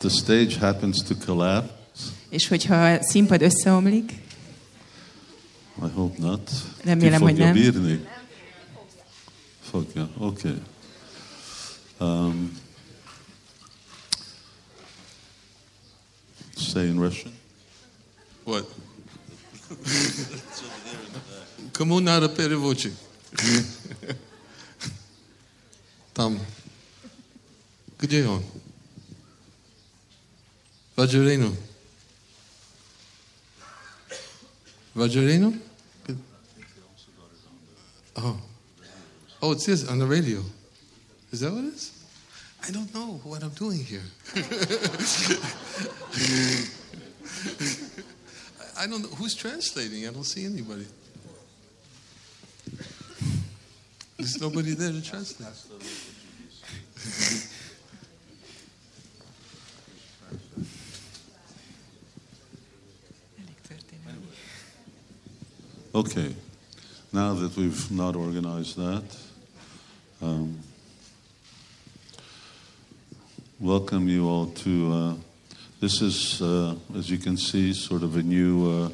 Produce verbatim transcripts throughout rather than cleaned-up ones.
the stage happens to collapse, és hogyha a színpad összeomlik, I hope not. Remélem, hogy nem. Bírni? Fogja, oké. Okay. Um, say in Russian. What? Кому надо переводчик? Там. Где он? Vajrino. Vajrino? Oh. Oh, it says on the radio. Is that what it is? I don't know what I'm doing here. I don't know. Who's translating? I don't see anybody. There's nobody there to translate. Okay. Now that we've not organized that, um, welcome you all to, uh, this is, uh, as you can see, sort of a new, uh,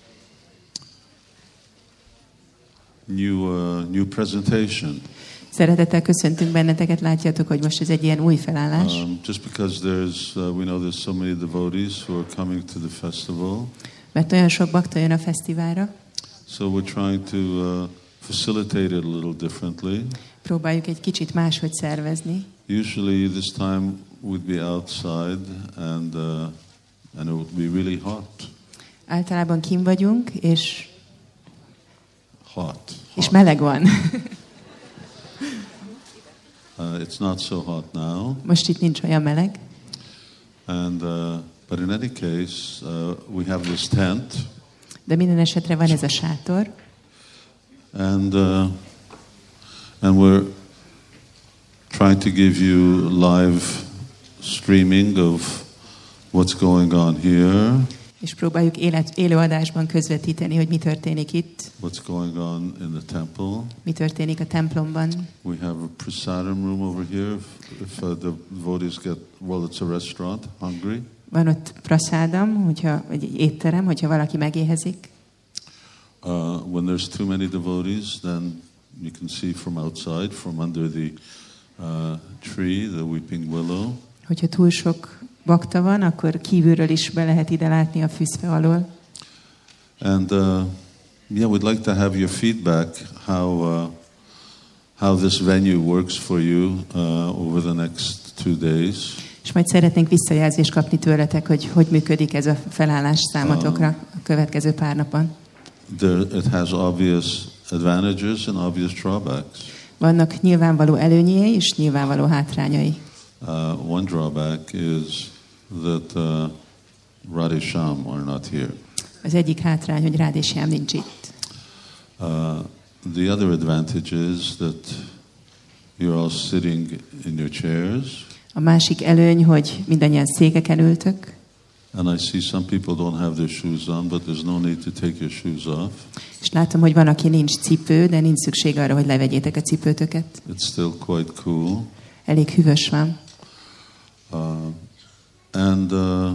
new, uh, new presentation. Szeretettel köszöntünk benneteket, látjátok, hogy most ez egy ilyen új felállás. Um, just because there's, uh, we know there's so many devotees who are coming to the festival. Mert olyan sok bakta jön a fesztiválra. So we're trying to uh, facilitate it a little differently. Próbáljuk egy kicsit máshogy szervezni. Usually this time we'd be outside and uh, and it would be really hot. Általában kint vagyunk, és hot. hot. És meleg van. uh, it's not so hot now. Most itt nincs olyan meleg. And uh, but in any case, uh, we have this tent. De minden esetre van ez a sátor. And uh, and we're trying to give you live streaming of what's going on here. És próbáljuk élet, élőadásban közvetíteni, hogy mi történik itt. What's going on in the temple? Mi történik a templomban? We have a prasadam room over here. If, if uh, the devotees get, well, it's a restaurant, hungry. Van ott prasádam, hogyha, vagy egy étterem, hogyha valaki megéhezik. Uh, when there's too many devotees, then you can see from outside, from under the uh, tree, the weeping willow. Hogyha túl sok bakta van, akkor kívülről is be lehet ide látni a füzfe alól. And uh, yeah, we'd like to have your feedback how uh, how this venue works for you uh, over the next two days. És majd szeretnénk visszajelzést kapni tőletek, hogy hogy működik ez a felállás számotokra a következő pár napon. There, it has obvious advantages and obvious drawbacks. Vannak nyilvánvaló előnyei és nyilvánvaló hátrányai. Uh, one drawback is that uh, Radhe Shyam are not here. Az egyik hátrány, hogy Radhe Shyam nincs itt. Uh, the other advantage is that you're all sitting in your chairs. A másik előny, hogy mindannyian székeken ültök. And I see some people don't have their shoes on, but there's no need to take your shoes off. És látom, hogy van, aki nincs cipő, de nincs szükség arra, hogy levegyétek a cipőtöket. It's still quite cool. Elég hűvös van. Uh, and uh,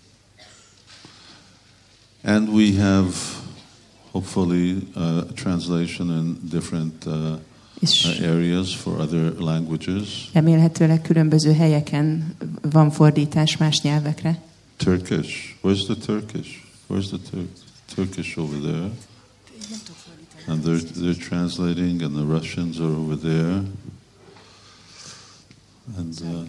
and we have hopefully uh, translation in different uh, uh, areas for other languages. Remélhetőleg különböző helyeken van fordítás más nyelvekre. Turkish. Where's the Turkish? Where's the Tur- Turkish over there? And they're they're translating, and the Russians are over there. And uh,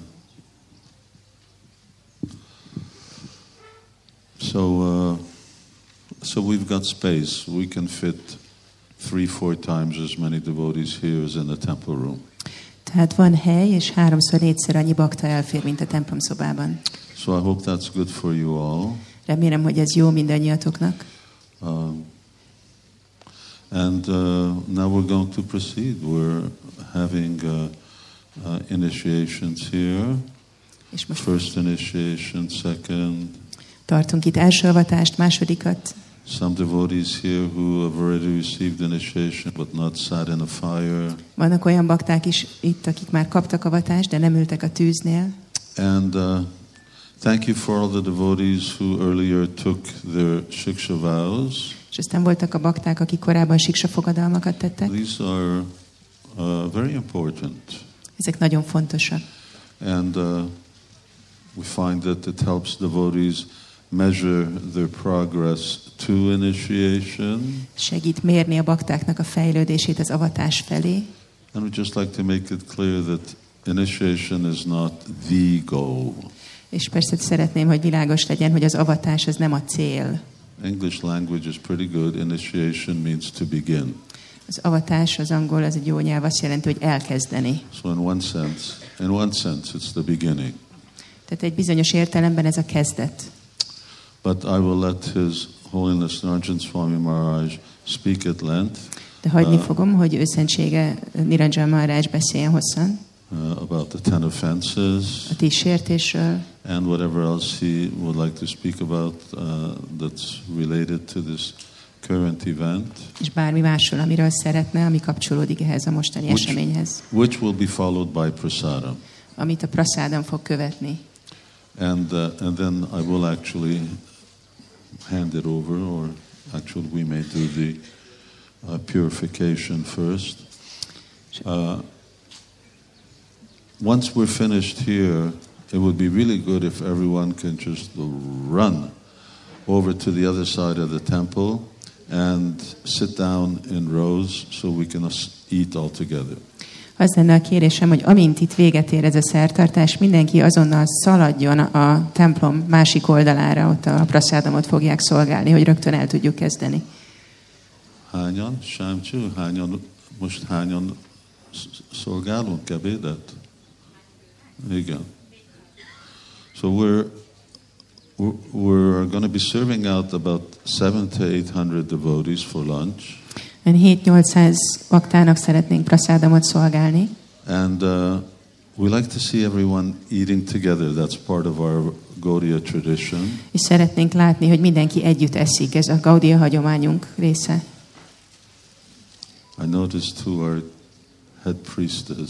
so uh, so we've got space. We can fit three, four times as many devotees here as in the temple room. Tehát van hely, és háromszor, négyszer annyi bakta elfér, mint a templomszobában. So I hope that's good for you all. Remélem, hogy ez jó mindannyiatoknak. Um, and uh, now we're going to proceed. We're having uh, uh, initiations here. És most First initiation, second. Tartunk itt első avatást, másodikat. Some devotees here who have already received initiation but not sat in a fire. Vannak olyan bakták is itt, akik már kaptak avatást, de nem ültek a tűznél. And uh, Thank you for all the devotees who earlier took their shiksha vows. És aztán voltak a bakták, akik korábban siksa fogadalmakat tettek. These are uh, very important. Ezek nagyon fontosak. And uh, we find that it helps devotees measure their progress to initiation. Segít mérni a baktáknak a fejlődését az avatás felé. And we just like to make it clear that initiation is not the goal. És persze szeretném, hogy világos legyen, hogy az avatás az nem a cél. English language is pretty good. Initiation means to begin. Az avatás, az angol, az egy jó nyelv, azt jelenti, hogy elkezdeni. So in one sense, in one sense it's the beginning. Tehát egy bizonyos értelemben ez a kezdet. But I will let His Holiness Niranjan Swami Maharaj speak at length. De hagyni uh, fogom, hogy őszentsége Niranjan Maharaj beszéljen hosszan. Uh, about the ten offenses. A tíz sértésről. And whatever else he would like to speak about uh, that's related to this current event. És bármi másról, amiről szeretne, ami kapcsolódik ehhez a mostani which, eseményhez. Which will be followed by prasadam. Amit a prasádam fog követni. And uh, and then I will actually hand it over, or actually we may do the uh, purification first. Uh, once we're finished here, it would be really good if everyone can just run over to the other side of the temple and sit down in rows so we can eat all together. Az lenne a kérésem, hogy amint itt véget ér ez a szertartás, mindenki azonnal szaladjon a templom másik oldalára, ott a praszádamot fogják szolgálni, hogy rögtön el tudjuk kezdeni. Hányan, Sámcsú, hányan, most hányan szolgálunk ebédet? Igen. So we're we're going to be serving out about seven to eight hundred devotees for lunch. hét-nyolcszáz baktának szeretnénk praszádamot szolgálni. And uh, we like to see everyone eating together. That's part of our Gaudiya tradition. És szeretnénk látni, hogy mindenki együtt eszik. Ez a Gaudiya hagyományunk része. I noticed who our head priest is.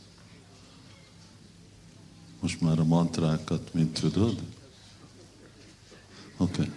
Most már a mantrákat mind tudod? Okay.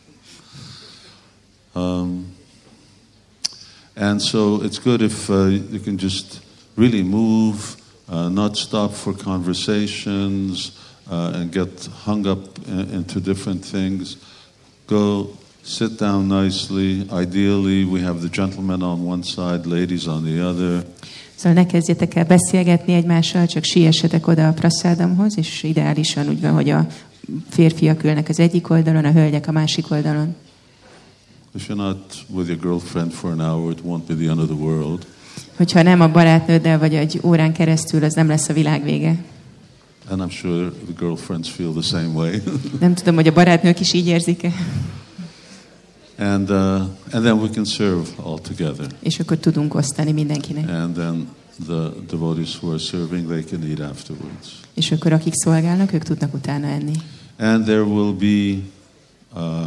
Um, and so it's good if uh, you can just really move, uh, not stop for conversations, uh, and get hung up in, into different things. Go sit down nicely. Ideally, we have the gentlemen on one side, ladies on the other. Szóval ne kezdjetek el beszélgetni egymással, csak siessetek oda a praszádamhoz, és ideálisan úgy van, hogy a férfiak ülnek az egyik oldalon, a hölgyek a másik oldalon. If you're not with your girlfriend for an hour, it won't be the end of the world. Hogyha nem a barátnőddel vagy egy órán keresztül, az nem lesz a világ vége. And I'm sure the girlfriends feel the same way. Nem tudom, hogy a barátnők is így érzik-e. And uh, and then we can serve all together. És akkor tudunk osztani mindenkinek. And then the devotees who are serving, they can eat afterwards. És akkor akik szolgálnak, ők tudnak utána enni. And there will be uh,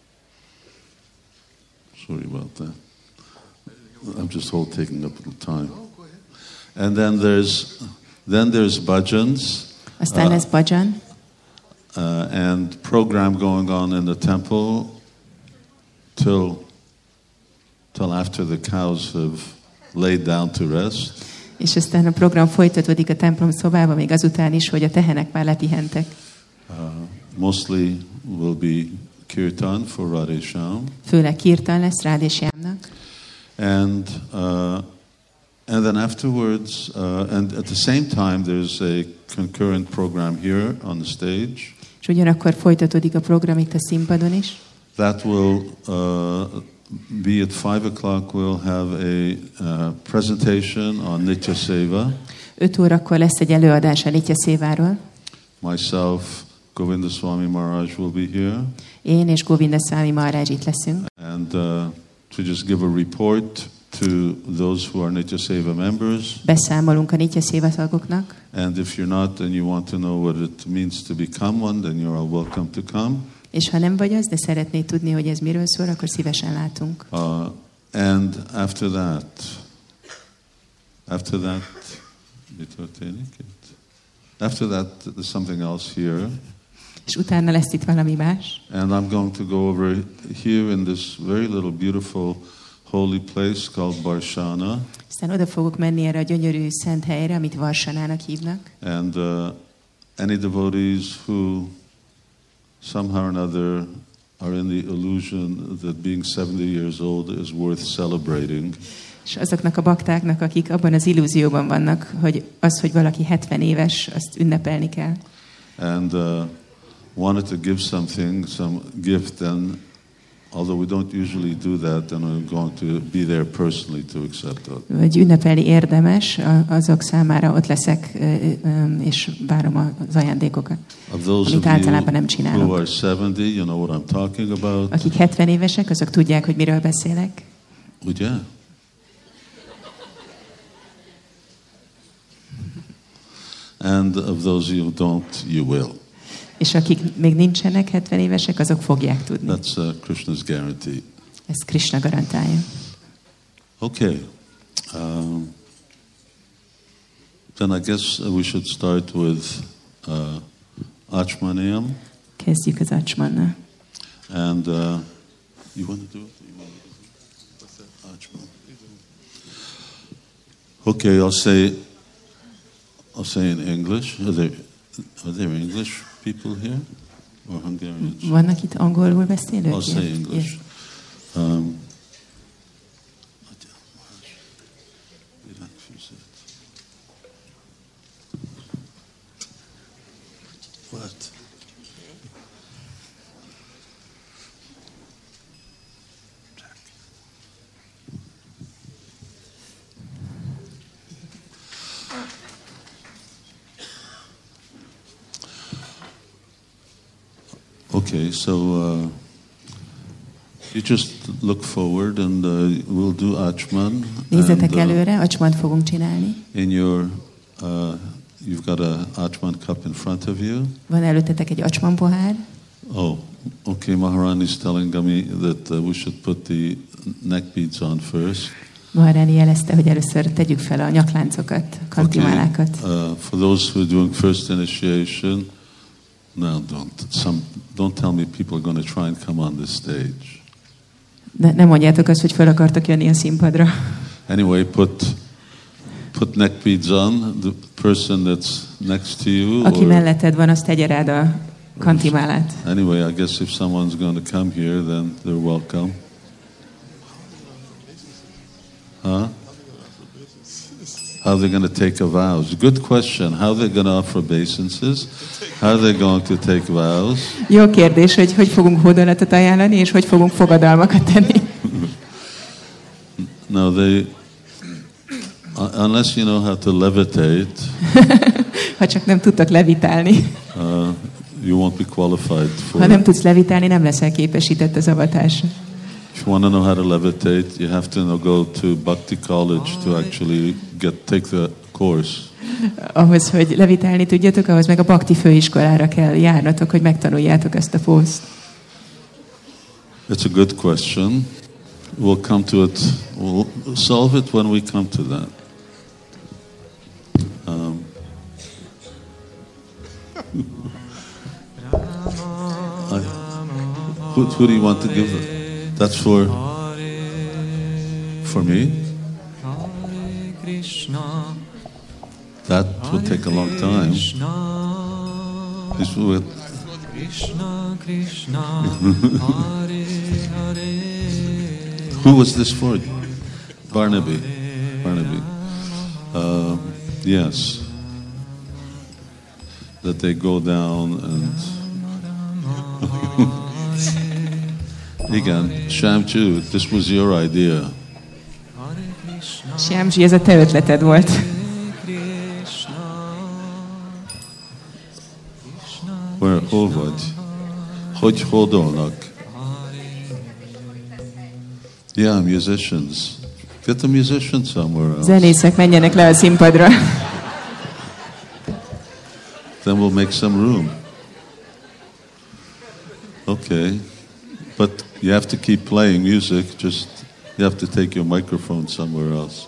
sorry about that. I'm just whole taking up a little time. And then there's then there's bhajans. Aztán lesz bhajan. Uh, and program going on in the temple till till after the cows have laid down to rest. És aztán a program folytatódik a templom szobában, még azután is, hogy a tehenek már lepihentek. Uh, mostly will be kirtan for Radhe Shyam. Főleg kirtan lesz Radhe Shyamnak. And uh, and then afterwards, uh, and at the same time, there's a concurrent program here on the stage. És ugyanakkor folytatódik a program itt a színpadon is. That will uh, be at five o'clock. We'll have a uh, presentation on Nitya Seva. Öt órakor lesz egy előadás a Nitya Széváról. Myself, Govinda Swami Maharaj will be here. Én és Govinda Swami Maharaj itt leszünk. And uh, to just give a report to those who are Nitya Seva members. Beszámolunk a Nitya Széva tagoknak. And if you're not and you want to know what it means to become one, then you're all welcome to come. És ha nem vagy az, de szeretnéd tudni, hogy ez miről szól, akkor szívesen látunk. Uh, and after that, after that, after that, there's something else here. És utána lesz itt valami más. And I'm going to go over here in this very little beautiful holy place called Barshana. Aztán oda fogok menni erre a gyönyörű szent helyre, amit Varsanának hívnak. And uh, any devotees who somehow or another are in the illusion that being seventy years old is worth celebrating. És azoknak a baktáknak, akik abban az illúzióban vannak, hogy az, hogy valaki hetven éves, azt ünnepelni kell. And uh, wanted to give something, some gift, and although we don't usually do that, then I'm going to be there personally to accept it. Vagy ünnepelni érdemes, azok számára ott leszek, és várom az ajándékokat. Of those amit általában nem csinálok. Who are seventy, you know what I'm talking about. Akik hetven évesek, azok tudják, hogy miről beszélek. Ugye? And of those who don't, you will. És akik még nincsenek hetven évesek, azok fogják tudni. That's uh, Krishna's guarantee. Ez Krishna garantálja. Okay. Um, then I guess we should start with uh, Achmaniyam. Kezdjük az Achmannal. And uh, you want to do it? You want to do it? What's that? Achman. Okay, I'll say. I'll say in English. Are there, are there English people here? Or Hungarians? Vannak itt angolul beszélők? I'll say English. Yes. Um, what? Okay, so uh, you just look forward and uh, we'll do Achman. Nézzetek and, uh, előre, Achmant fogunk csinálni. In your, uh, you've got a Achman cup in front of you. Van előttetek egy Achman pohár. Oh, okay, Maharani is telling me that uh, we should put the neck beads on first. Maharani jelezte, hogy először tegyük fel a nyakláncokat, a kantimálákat. Okay. Uh, for those who are doing first initiation, no, don't. Some, don't tell me people are going to try and come on this stage. De nem mondjátok azt, hogy fel akartok jönni a színpadra. Anyway, put put neck beads on. The person that's next to you. Aki melletted van, azt tegye rád a kantimálát. Anyway, I guess if someone's going to come here, then they're welcome. Huh? How are they going to take a vows? Good question. How are they going to offer obeisances? How are they going to take vows? Jó kérdés, hogy hogy fogunk hódolatot ajánlani, és hogy fogunk fogadalmakat tenni. No, they, unless you know how to levitate, ha csak nem tudtak levitálni, uh, you won't be qualified for. Ha nem tudsz levitálni, nem leszel képesített az avatásra. If you want to know how to levitate, you have to know, go to Bhakti College to actually get take the course. Ahhoz, hogy levitálni tudjatok, ahhoz meg a Bhakti főiskolára kell járnatok, hogy megtanuljátok ezt a pószt. It's a good question. We'll come to it. We'll solve it when we come to that. Um, I, who, who do you want to give it? That's for for me. That will take a long time. This will. Who was this for? Barnaby. Barnaby. Uh, yes. That they go down and. Igen, Shyamji, this was your idea. Shyamji, ez a te ötleted volt. Where, hol vagy? Hogy hódolnak? Yeah, musicians. Get the musicians somewhere else. Zenészek menjenek le a színpadra. Then we'll make some room. Okay. But you have to keep playing music, just you have to take your microphone somewhere else.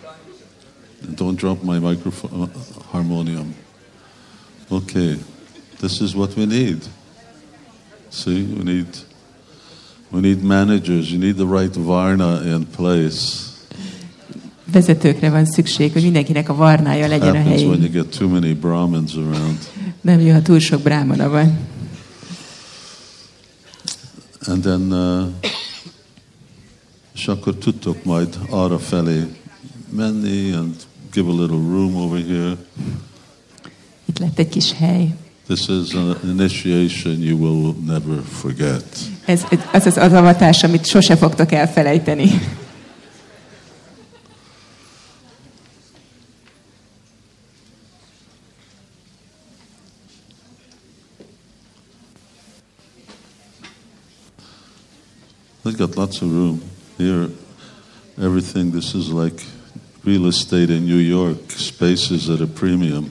And don't drop my microphone, uh, harmonium. Okay. This is what we need. See, we need we need managers. You need the right varna in place. Vezetőkre van szükség, hogy mindenkinek a varnája legyen a Happens when you helyén. get too many Brahmins around. Nem jó, ha túl sok brámana van. And then, uh, és akkor tudtok majd arra felé menni and give a little room over here. Itt lett egy kis hely. This is an initiation you will never forget. Ez az az avatás, amit sose fogtok elfelejteni. They've got lots of room here. Everything, this is like real estate in New York. Space is at a premium.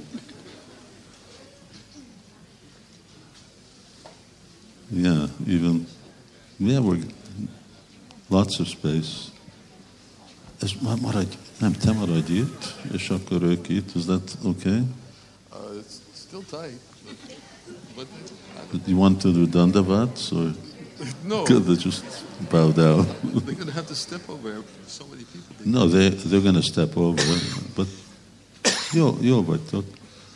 Yeah, even, yeah, we're, lots of space. Ez maradj, nem, te maradj itt, és akkor ők itt. Is that okay? Uh, it's still tight. But, but You want to do dandavats or no, could they just bow down? they're going to have to step over so many people. No, they, they're going to step over, but jó, jó vagytok.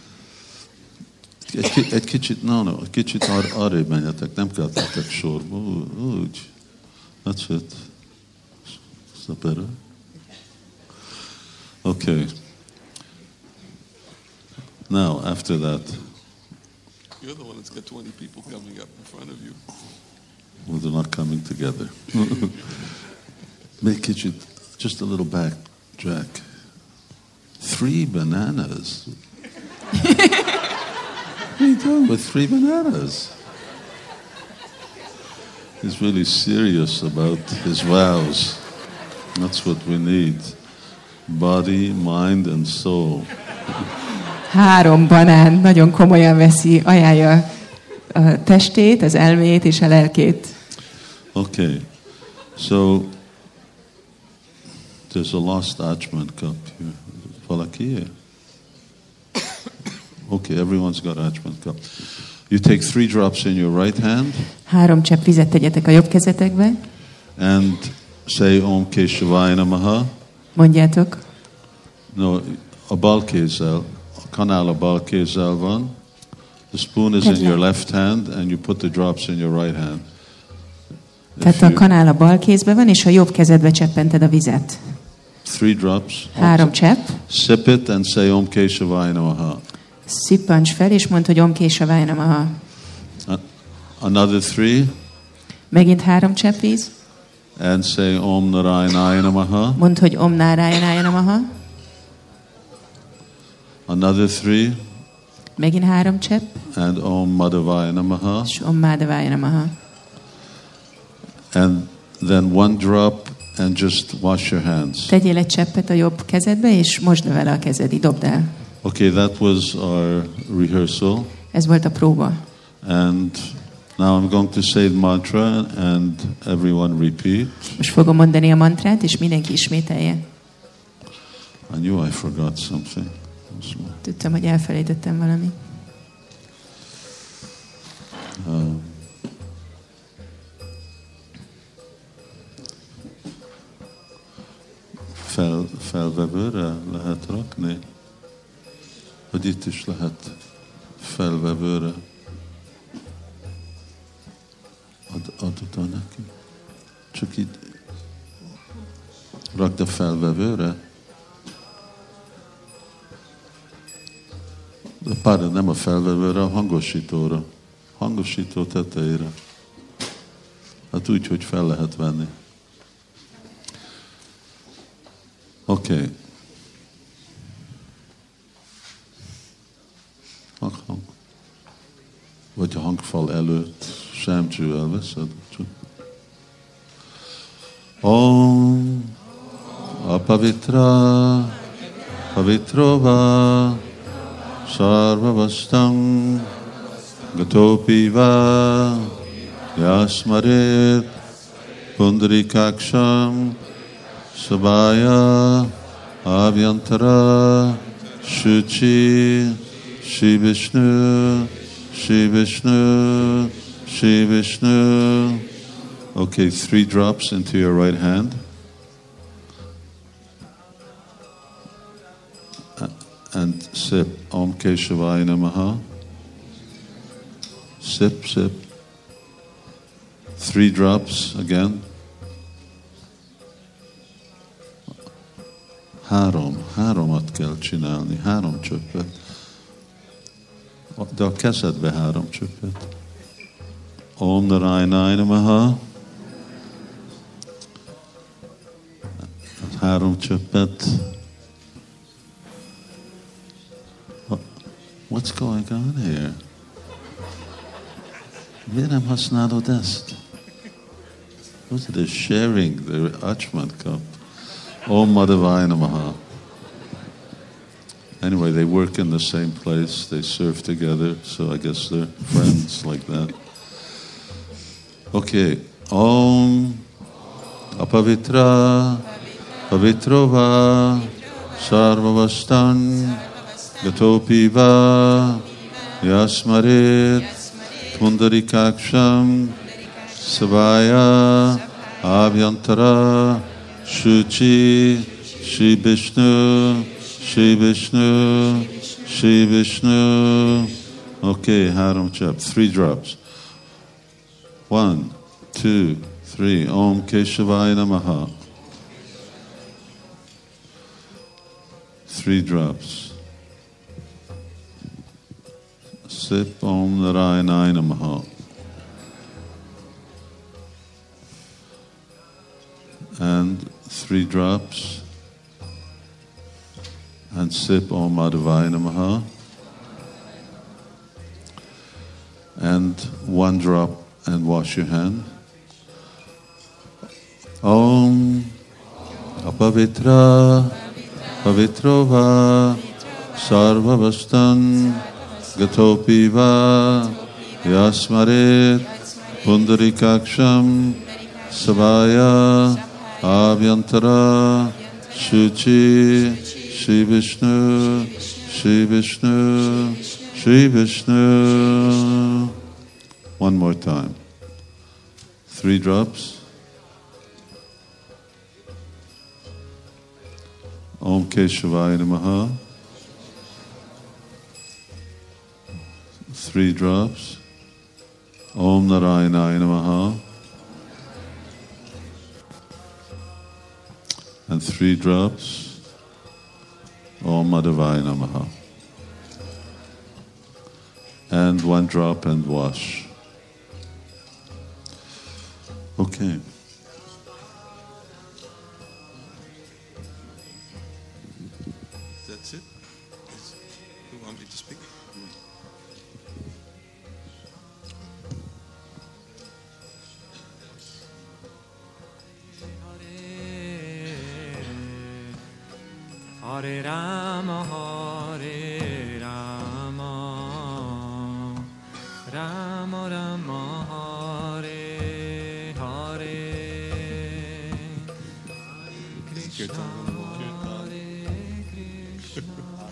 Egy, ki- egy kicsit, no, no, egy kicsit ar- arrébb menjetek, nem kell tettek sorba, Ú- úgy. That's it. Is that better? Okay. Now, after that, You're the one that's got twenty people coming up in front of you. well, they're not coming together. Make kicsit, just a little back, Jack. Three bananas. What are you doing with three bananas? He's really serious about his vows. That's what we need. Body, mind, and soul. Három banán nagyon komolyan veszi, ajánlja a testét, az elmét és a lelkét. Okay, so there's a lost Achman cup here. Valaki here? Okay, everyone's got Achman cup. You take three drops in your right hand Három csepp vizet tegyetek a jobb kezetekbe, and say Om Keshavaya Namaha. mondjátok, No, a bal kézzel, a kanál a bal kézzel van. The spoon is in your left hand and you put the drops in your right hand. If tehát a you- kanál a bal kézbe van, és a jobb kezedbe cseppented a vizet. Three drops. Három csepp, Sip it and say Om Keshavaya Namaha. szippancs fel, és mondd, hogy Om Keshavaya Namaha. Uh, Another three Megint három csepp víz, and say Om Narayanaya Namaha. mondd, hogy Om Nárájanaya Namaha. Another three Megint három csepp, and Om Madhavaya Namaha. és Om Mádavaya Namaha. And then one drop and just wash your hands. Tegyél egy cseppet a jobb kezedbe, és mosd vele a kezed, így dobd el. Okay, that was our rehearsal. Ez volt a próba. And now I'm going to say the mantra and everyone repeat. Most fogom mondani a mantrát, és mindenki ismételje. I knew I forgot something. Tudtam, hogy elfelejtettem valamit. Um, fel, felvevőre lehet rakni? Vagy itt is lehet felvevőre? Ad, ad oda neki. Csak itt rakd a felvevőre. De pardon, nem a felvevőre, a hangosítóra. Hangosító tetejére. Hát úgy, hogy fel lehet venni. Oké. Okay. Hang, hang. Vagy a hangfal előtt semcső elveszed. Csak. Om apavitra pavitrova sarvavastam gatopi va yasmaret pundarikaksham sabaya avyantara shuchi Shri Vishnu Shri Vishnu, Shri Vishnu. Okay, three drops into your right hand. And sip. Om Keshavaya Namaha. Sip, sip. Three drops again. Három, háromat kell csinálni, három csöppet. De a kezedbe három csöppet. Om Narayana Namaha. Három csöppet. What's going on here? Miért nem használod ezt? What's it sharing the Achman cup? Om Madhavaya Namaha. Anyway, they work in the same place. They serve together, so I guess they're friends like that. Okay. Om Apavitra Pavitrova Sarvavastan Gatopiva Yasmarit Pundarikaksham Savaya Avyantara Shuchi Shri Vishnu Shri Vishnu Shri Vishnu. Okay, Haram Chap. Three drops. One, two, three. Om Keshavaya Namaha. Three drops. Sip Om Narayana Namaha. And three drops. And sip Om Madhavaya Namaha. And one drop and wash your hand. Om Apavitra Pavitrova Sarvavastan Gatopiva Yasmarit Pundarikaksham Savaya Avyantara Shuchi Shri Vishnu Shri Vishnu Shri Vishnu. One more time. Three drops. Om Keshavaya Namaha. Three drops. Om Narayana Namaha. And three drops. Om Madhavaya Namaha. And one drop and wash. Okay. That's it? You want me to speak? Hare Rama, Hare Rama, Rama Rama, Hare Hare, Krishna, Hare Krishna.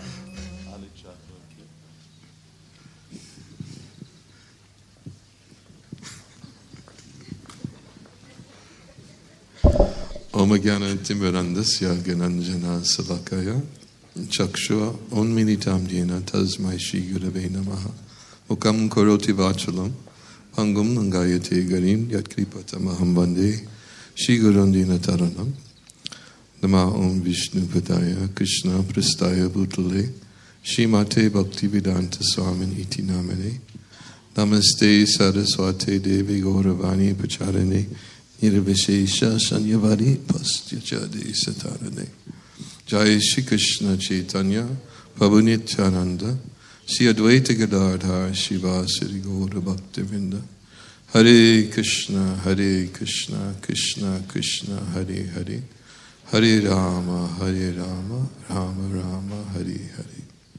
Om Jnana Timirandasya Gyananjana Salakaya Chakshua Unmilitam Jena Tasmai Shri Gurave Namaha Mukam Karoti Vachalam Pangum Nangayate Garim Yatkripatamaham Vande Shri Gurandina Taranam Nama Om Vishnu Padaya Krishna Prastaya Bhutale Shrimate Bhaktivedanta Swamin Iti Namane Namaste Saraswate Devi Gauravani Pacharane Nirvishesha Sanyavari Pastyachade Satarane Jai Shri Krishna Chaitanya Prabhu Nityananda Shri Advaita Gadadhar Shivasari Gaura Bhaktivinda Hare Krishna Hare Krishna Krishna Krishna Hare Hare Hare Rama Hare Rama Rama Rama Hare Hare.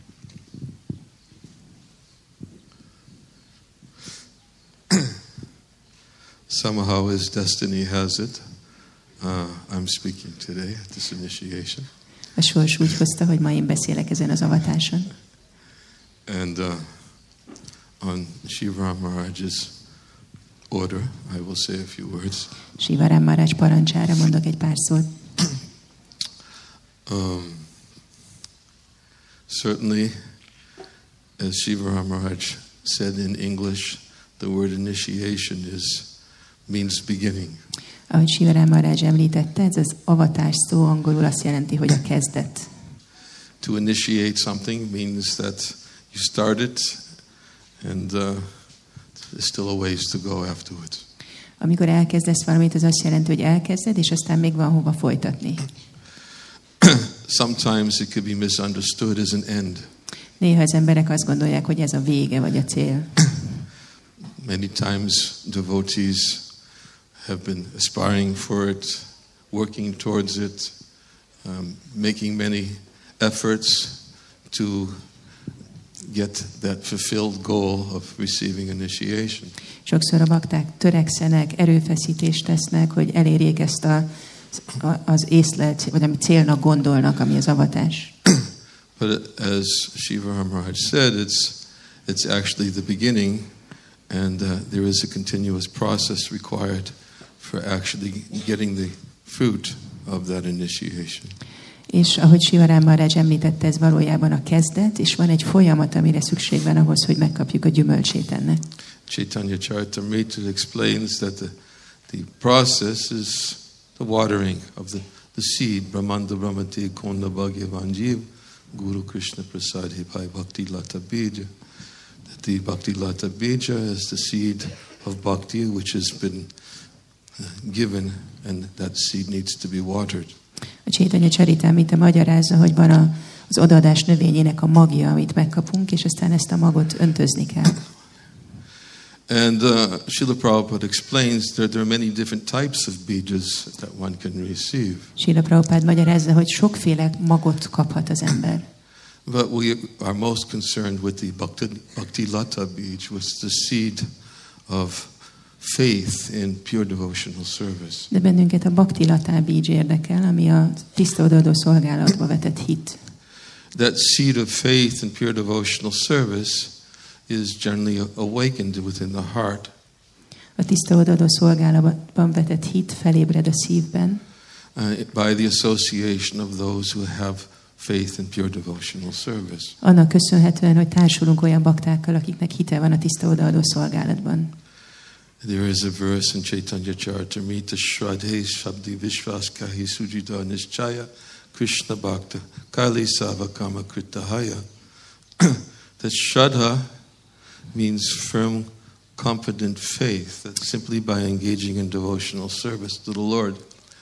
Somehow, as destiny has it, uh, I'm speaking today at this initiation. A sors úgy hozta, hogy ma én beszélek ezen az avatáson. And uh, on Shivaram Maharaj's order, I will say a few words. Sivaram Maharaj parancsára mondok egy pár szót. Um, certainly, as Shivaram Maharaj said in English, the word initiation is means beginning. Ahogy Sivaram Maharaj említette, ez az avatás szó angolul azt jelenti, hogy a kezdet. To initiate something means that you start it and uh, there's still a ways to go afterwards. Amikor elkezdesz valamit, az azt jelenti, hogy elkezded, és aztán még van hova folytatni. Sometimes it could be misunderstood as an end. Néha az emberek azt gondolják, hogy ez a vége vagy a cél. Many times devotees have been aspiring for it, working towards it, um, making many efforts to get that fulfilled goal of receiving initiation. Sokszor a bakták törekszenek, erőfeszítést tesznek, hogy elérjék ezt a, a, az észlelt, vagy ami célnak gondolnak, ami az avatás. But as Shivaram Maharaj said, it's it's actually the beginning, and uh, there is a continuous process required for actually getting the fruit of that initiation. És ahogy Sivaram Maharaj említette, ez valójában a kezdet, és van egy folyamat, amire szükség van ahhoz, hogy megkapjuk a gyümölcsét ennek. Chaitanya Charitamrita explains that the, the process is the watering of the, the seed, Brahmanda Brahmati Konda Bhagyavan Jeev, Guru Krishna Prasad Hipai Bhakti Lata Bija. That the Bhakti Lata Bija is the seed of bhakti which has been given, and that seed needs to be watered. A Chaitanya Charitamrita magyarázza, hogy van a, az odaadás növényének a magja, amit megkapunk, és aztán ezt a magot öntözni kell. And uh, Srila Prabhupada explains that there are many different types of bijas that one can receive. Srila Prabhupada magyarázza, hogy sokféle magot kaphat az ember. But we are most concerned with the Bhakti, Bhakti Lata bij, which is the seed of faith in pure devotional service. De bennünket a Bhakti Lata bij érdekel, ami a tiszta odaadó szolgálatba vetett hit. That seed of faith in pure devotional service is generally awakened within the heart. A tiszta odaadó szolgálatban vetett hit felébred a szívben. Uh, by the association of those who have faith in pure devotional service. Annak köszönhetően, hogy társulunk olyan baktákkal, akiknek hite van a tiszta odaadó szolgálatban. There is a verse in Chaitanya Charitamrita, Shraddhe Shabdi Vishvas Kahi Sujita Nischaya Krishna Bhakta Kali Savakama Kritahaya. That Shraddha means firm, confident faith, that simply by engaging in devotional service to the Lord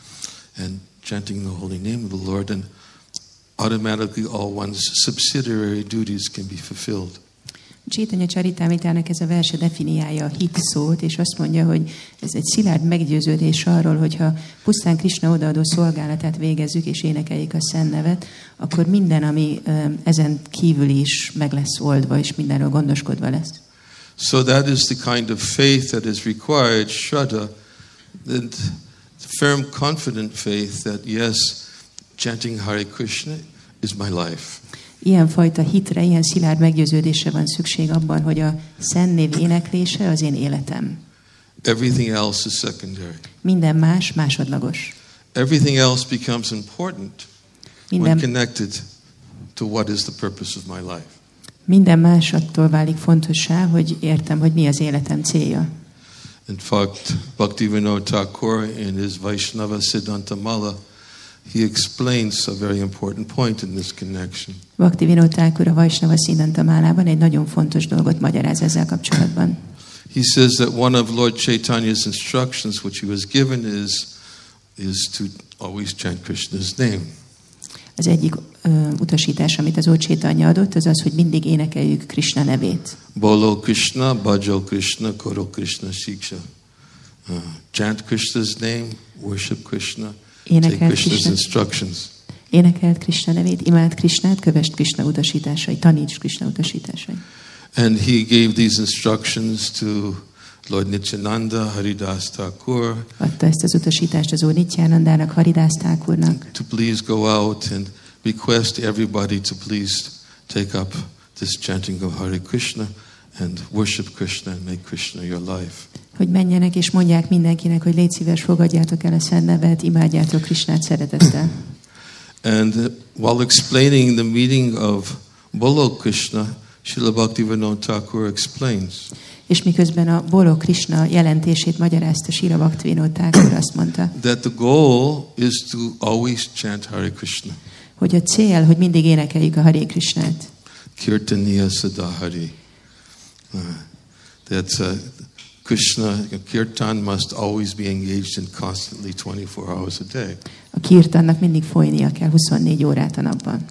and chanting the holy name of the Lord, and automatically all one's subsidiary duties can be fulfilled. Chaitanya Charitamritának ez a verse definiálja a hit szót, és azt mondja, hogy ez egy szilárd meggyőződés arról, hogyha pusztán Krishna odaadó szolgálatát végezzük és énekeljük a szent nevet, akkor minden, ami ezen kívül is meg lesz oldva, és mindenről gondoskodva lesz. So that is the kind of faith that is required, Shraddha, that firm, confident faith that yes, chanting Hare Krishna is my life. Ilyen fajta hitre, ilyen szilárd meggyőződésre van szükség abban, hogy a szent név éneklése az én életem. Everything else is secondary. Minden más másodlagos. Everything else becomes important Minden, when connected to what is the purpose of my life. minden más attól válik fontossá, hogy értem, hogy mi az életem célja. In fact, Bhaktivinoda Thakur in his Vaishnava Siddhanta Mala, he explains a very important point in this connection. Bhaktivinoda Thakur a Vaishnava Siddhanta Málában egy nagyon fontos dolgot magyaráz ezzel kapcsolatban. He says that one of Lord Chaitanya's instructions which he was given is is to always chant Krishna's name. Az egyik ö, utasítás, amit az Úr Chaitanya adott, az az, hogy mindig énekeljük Krishna nevét. Bolo Krishna, Bhajo Krishna, Koro Krishna Shiksha. Uh, chant Krishna's name, worship Krishna, take Énekelt Krishna's Krishna, instructions. énekelt Krishna nevét, imád Krishnát, kövesd Krishna utasításait, taníts Krishna utasításait. And he gave these instructions to Lord Nityananda, Haridas Thakur. Adta ezt az utasítást az Úr Nityanandának, Haridas Thakurnak. To please go out and request everybody to please take up this chanting of Hare Krishna and worship Krishna and make Krishna your life. Hogy menjenek és mondják mindenkinek, hogy légy szíves, fogadjátok el a Szent Nevet, imádjátok Krisnát szeretettel. And uh, while explaining the meaning of Bolo Krishna, Srila Bhaktivinoda Thakur explains. És miközben a Bolo Krishna jelentését magyarázta, Srila Bhaktivinoda Thakur azt mondta, That the goal is to always chant Hare Krishna. hogy a cél, hogy mindig énekeljük a Hare Krishnát. Kirtaniya Sadahari. Uh, that uh, Krishna, Kirtan must always be engaged in constantly twenty-four hours a day. A kirtannak mindig folynia kell huszonnégy órát a napban.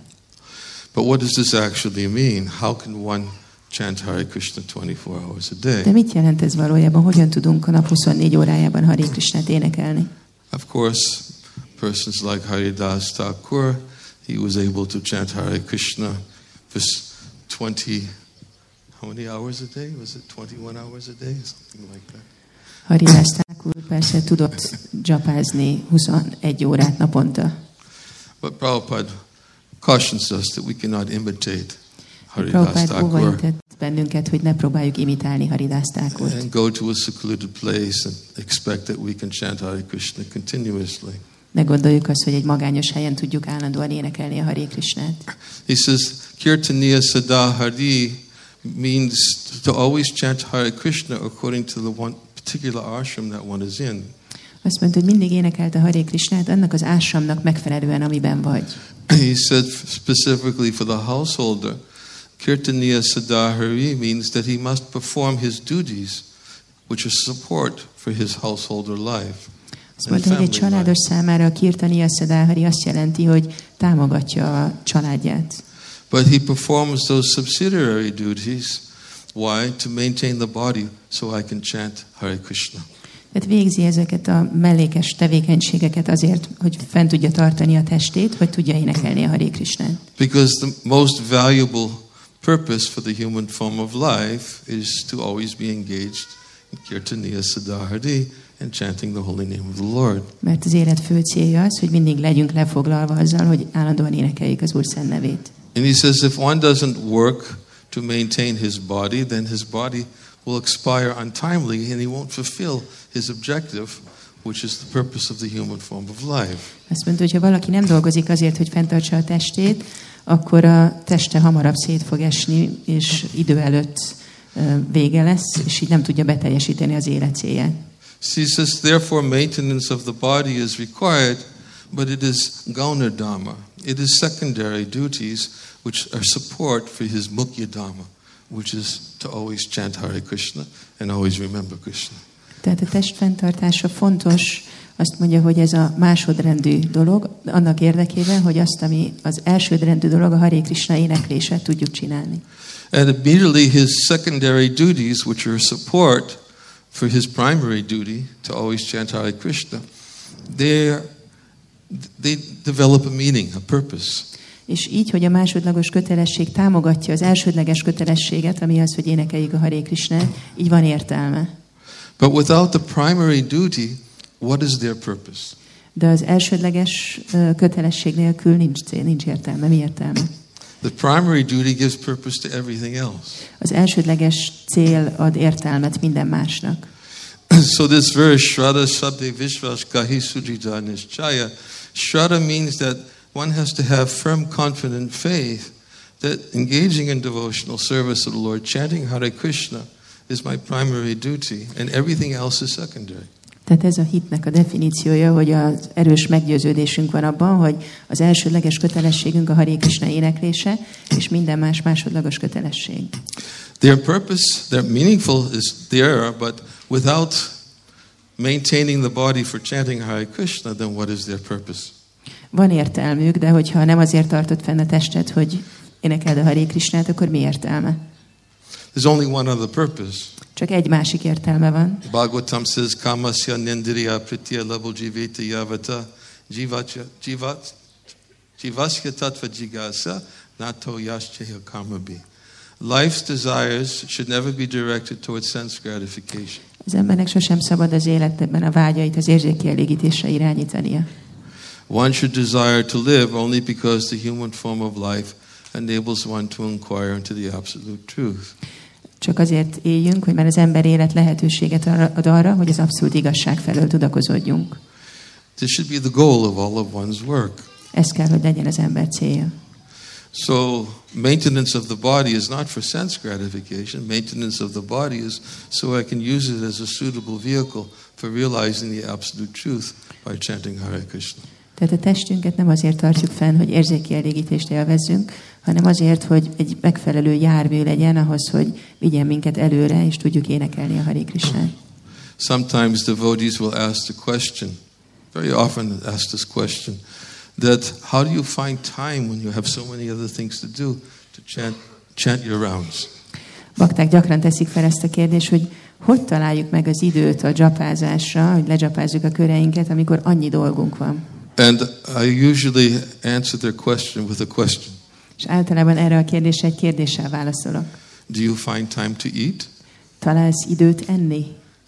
But what does this actually mean? How can one chant Hare Krishna twenty-four hours a day? De mit jelent ez valójában? Hogyan tudunk a nap huszonnégy órájában Hare Krishnát énekelni? Of course, persons like Haridas Thakur, he was able to chant Hare Krishna for twenty, how many hours a day? Was it twenty-one hours a day? Something like that. Haridas Thakur persze tudott dzsapázni huszonegy órát naponta. But Prabhupada cautions us that we cannot imitate Haridas Prabhupád Thakur óvaintett bennünket, hogy ne próbáljuk imitálni Haridas Thakurt. and go to a secluded place and expect that we can chant Hare Krishna continuously. Ne gondoljuk azt, hogy egy magányos helyen tudjuk állandóan énekelni a Hare Krishnát. He says, Kirtaniya Sada Hari means to always chant Hare Krishna according to the one particular ashram that one is in. Azt mondta, hogy mindig énekelt a Hare Krishnát annak az ásramnak megfelelően, amiben vagy. He said specifically for the householder, Kirtaniya Sada Hari means that he must perform his duties, which is support for his householder life. Azt mondta, hogy egy családos számára a Kirtaniya Sada Hari azt jelenti, hogy támogatja a családját. But he performs those subsidiary duties. Why? To maintain the body so I can chant Hare Krishna. Tehát végzi ezeket a mellékes tevékenységeket azért, hogy fent tudja tartani a testét, hogy tudja énekelni a Hare Krishnát. Because the most valuable purpose for the human form of life is to always be engaged in Kirtaniya Sada Hari and chanting the holy name of the Lord. Mert az élet fő célja az, hogy mindig legyünk lefoglalva azzal, hogy állandóan énekeljük az Úr szent nevét. And he says if one doesn't work to maintain his body, then his body will expire untimely and he won't fulfill his objective, which is the purpose of the human form of life. Azt mondta, hogy ha valaki nem dolgozik azért, hogy fenntartsa a testét, akkor a teste hamarabb szét fog esni, és idő előtt vége lesz, és így nem tudja beteljesíteni az élet célját. He says, therefore maintenance of the body is required, but it is gauna dharma. It is secondary duties which are support for his mukhya dharma, which is to always chant Hare Krishna and always remember Krishna. Tehát a test fenntartása fontos, azt mondja, hogy ez a másodrendű dolog, annak érdekében, hogy azt, ami az elsődrendű dolog, a Hare Krishna éneklése, tudjuk csinálni. And immediately his secondary duties, which are support for his primary duty to always chant Hare Krishna, they they develop a meaning, a purpose. És így, hogy a másodlagos kötelesség támogatja az elsődleges kötelességet, ami az, hogy énekeljük a Hare Krishnát, így van értelme. But without the primary duty, what is their purpose? De az elsődleges kötelesség nélkül nincs cél, nincs értelme. Mi értelme? The primary duty gives purpose to everything else. Az elsődleges cél ad értelmet minden másnak. So this verse, Shraddha Sabde Vishwas Kahi Sujita Nishchaya, Shraddha means that one has to have firm, confident faith that engaging in devotional service of the Lord, chanting Hare Krishna, is my primary duty, and everything else is secondary. Tehát ez a hitnek a definíciója, hogy az erős meggyőződésünk van abban, hogy az elsődleges kötelességünk a Hare Krishna éneklése, és minden más másodlagos kötelesség. Their purpose, their meaningful is there, but without maintaining the body for chanting Hare Krishna, then what is their purpose? Van értelmük, de hogyha nem azért tartott fenn a testet, hogy énekeld a Hare Krishnát, akkor mi értelme? There's only one other purpose. Csak egy másik értelme van. Bhagavatam says, Kamasya Nindriya Pritya Labo Jiveta Yavata Jivatya Jivat Jivasya Tattva Jigasa Nato Yashcheya Karmabi. Life's desires should never be directed towards sense gratification. Az embernek sosem szabad az életben a vágyait az érzékkielégítésre irányítania. One should desire to live only because the human form of life enables one to inquire into the absolute truth. Csak azért éljünk, hogy már az ember élet lehetőséget ad arra, hogy az abszolút igazság felől tudakozódjunk. This should be the goal of all of one's work. Ez kell, hogy legyen az ember célja. So maintenance of the body is not for sense gratification. Maintenance of the body is so I can use it as a suitable vehicle for realizing the absolute truth by chanting Hare Krishna. Tehát a testünket nem azért tartjuk fenn, hogy érzékielégítést élvezzünk, hanem azért, hogy egy megfelelő jármű legyen ahhoz, hogy vigyen minket előre, és tudjuk énekelni a Hare Krishnát. Sometimes devotees will ask the question, very often ask this question, that how do you find time when you have so many other things to do to chant, chant your rounds? Bakták gyakran teszik fel ezt a kérdést, hogy hogy találjuk meg az időt a dzsapázásra, hogy ledzsapázzuk a köreinket, amikor annyi dolgunk van. And I usually answer their question with a question. És általában erre a kérdésre egy kérdéssel válaszolok. Do you find time to eat? Találsz időt enni?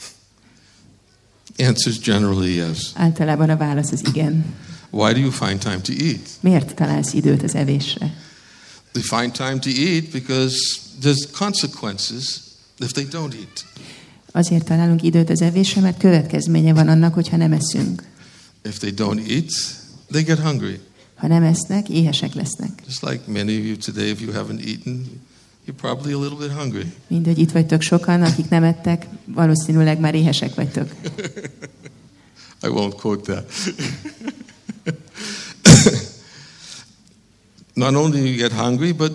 Answer is generally yes. Általában a válasz az igen. Why do you find time to eat? Miért találsz időt az evésre? They find time to eat because there's consequences if they don't eat. Azért találunk időt az evésre, mert következménye van annak, hogyha nem eszünk. If they don't eat, they get hungry. Ha nem esznek, éhesek lesznek. Just like many of you today, if you haven't eaten, you're probably a little bit hungry. Mind, hogy itt vagytok sokan, akik nem ettek, valószínűleg már éhesek vagytok. I won't quote that. Not only do you get hungry, but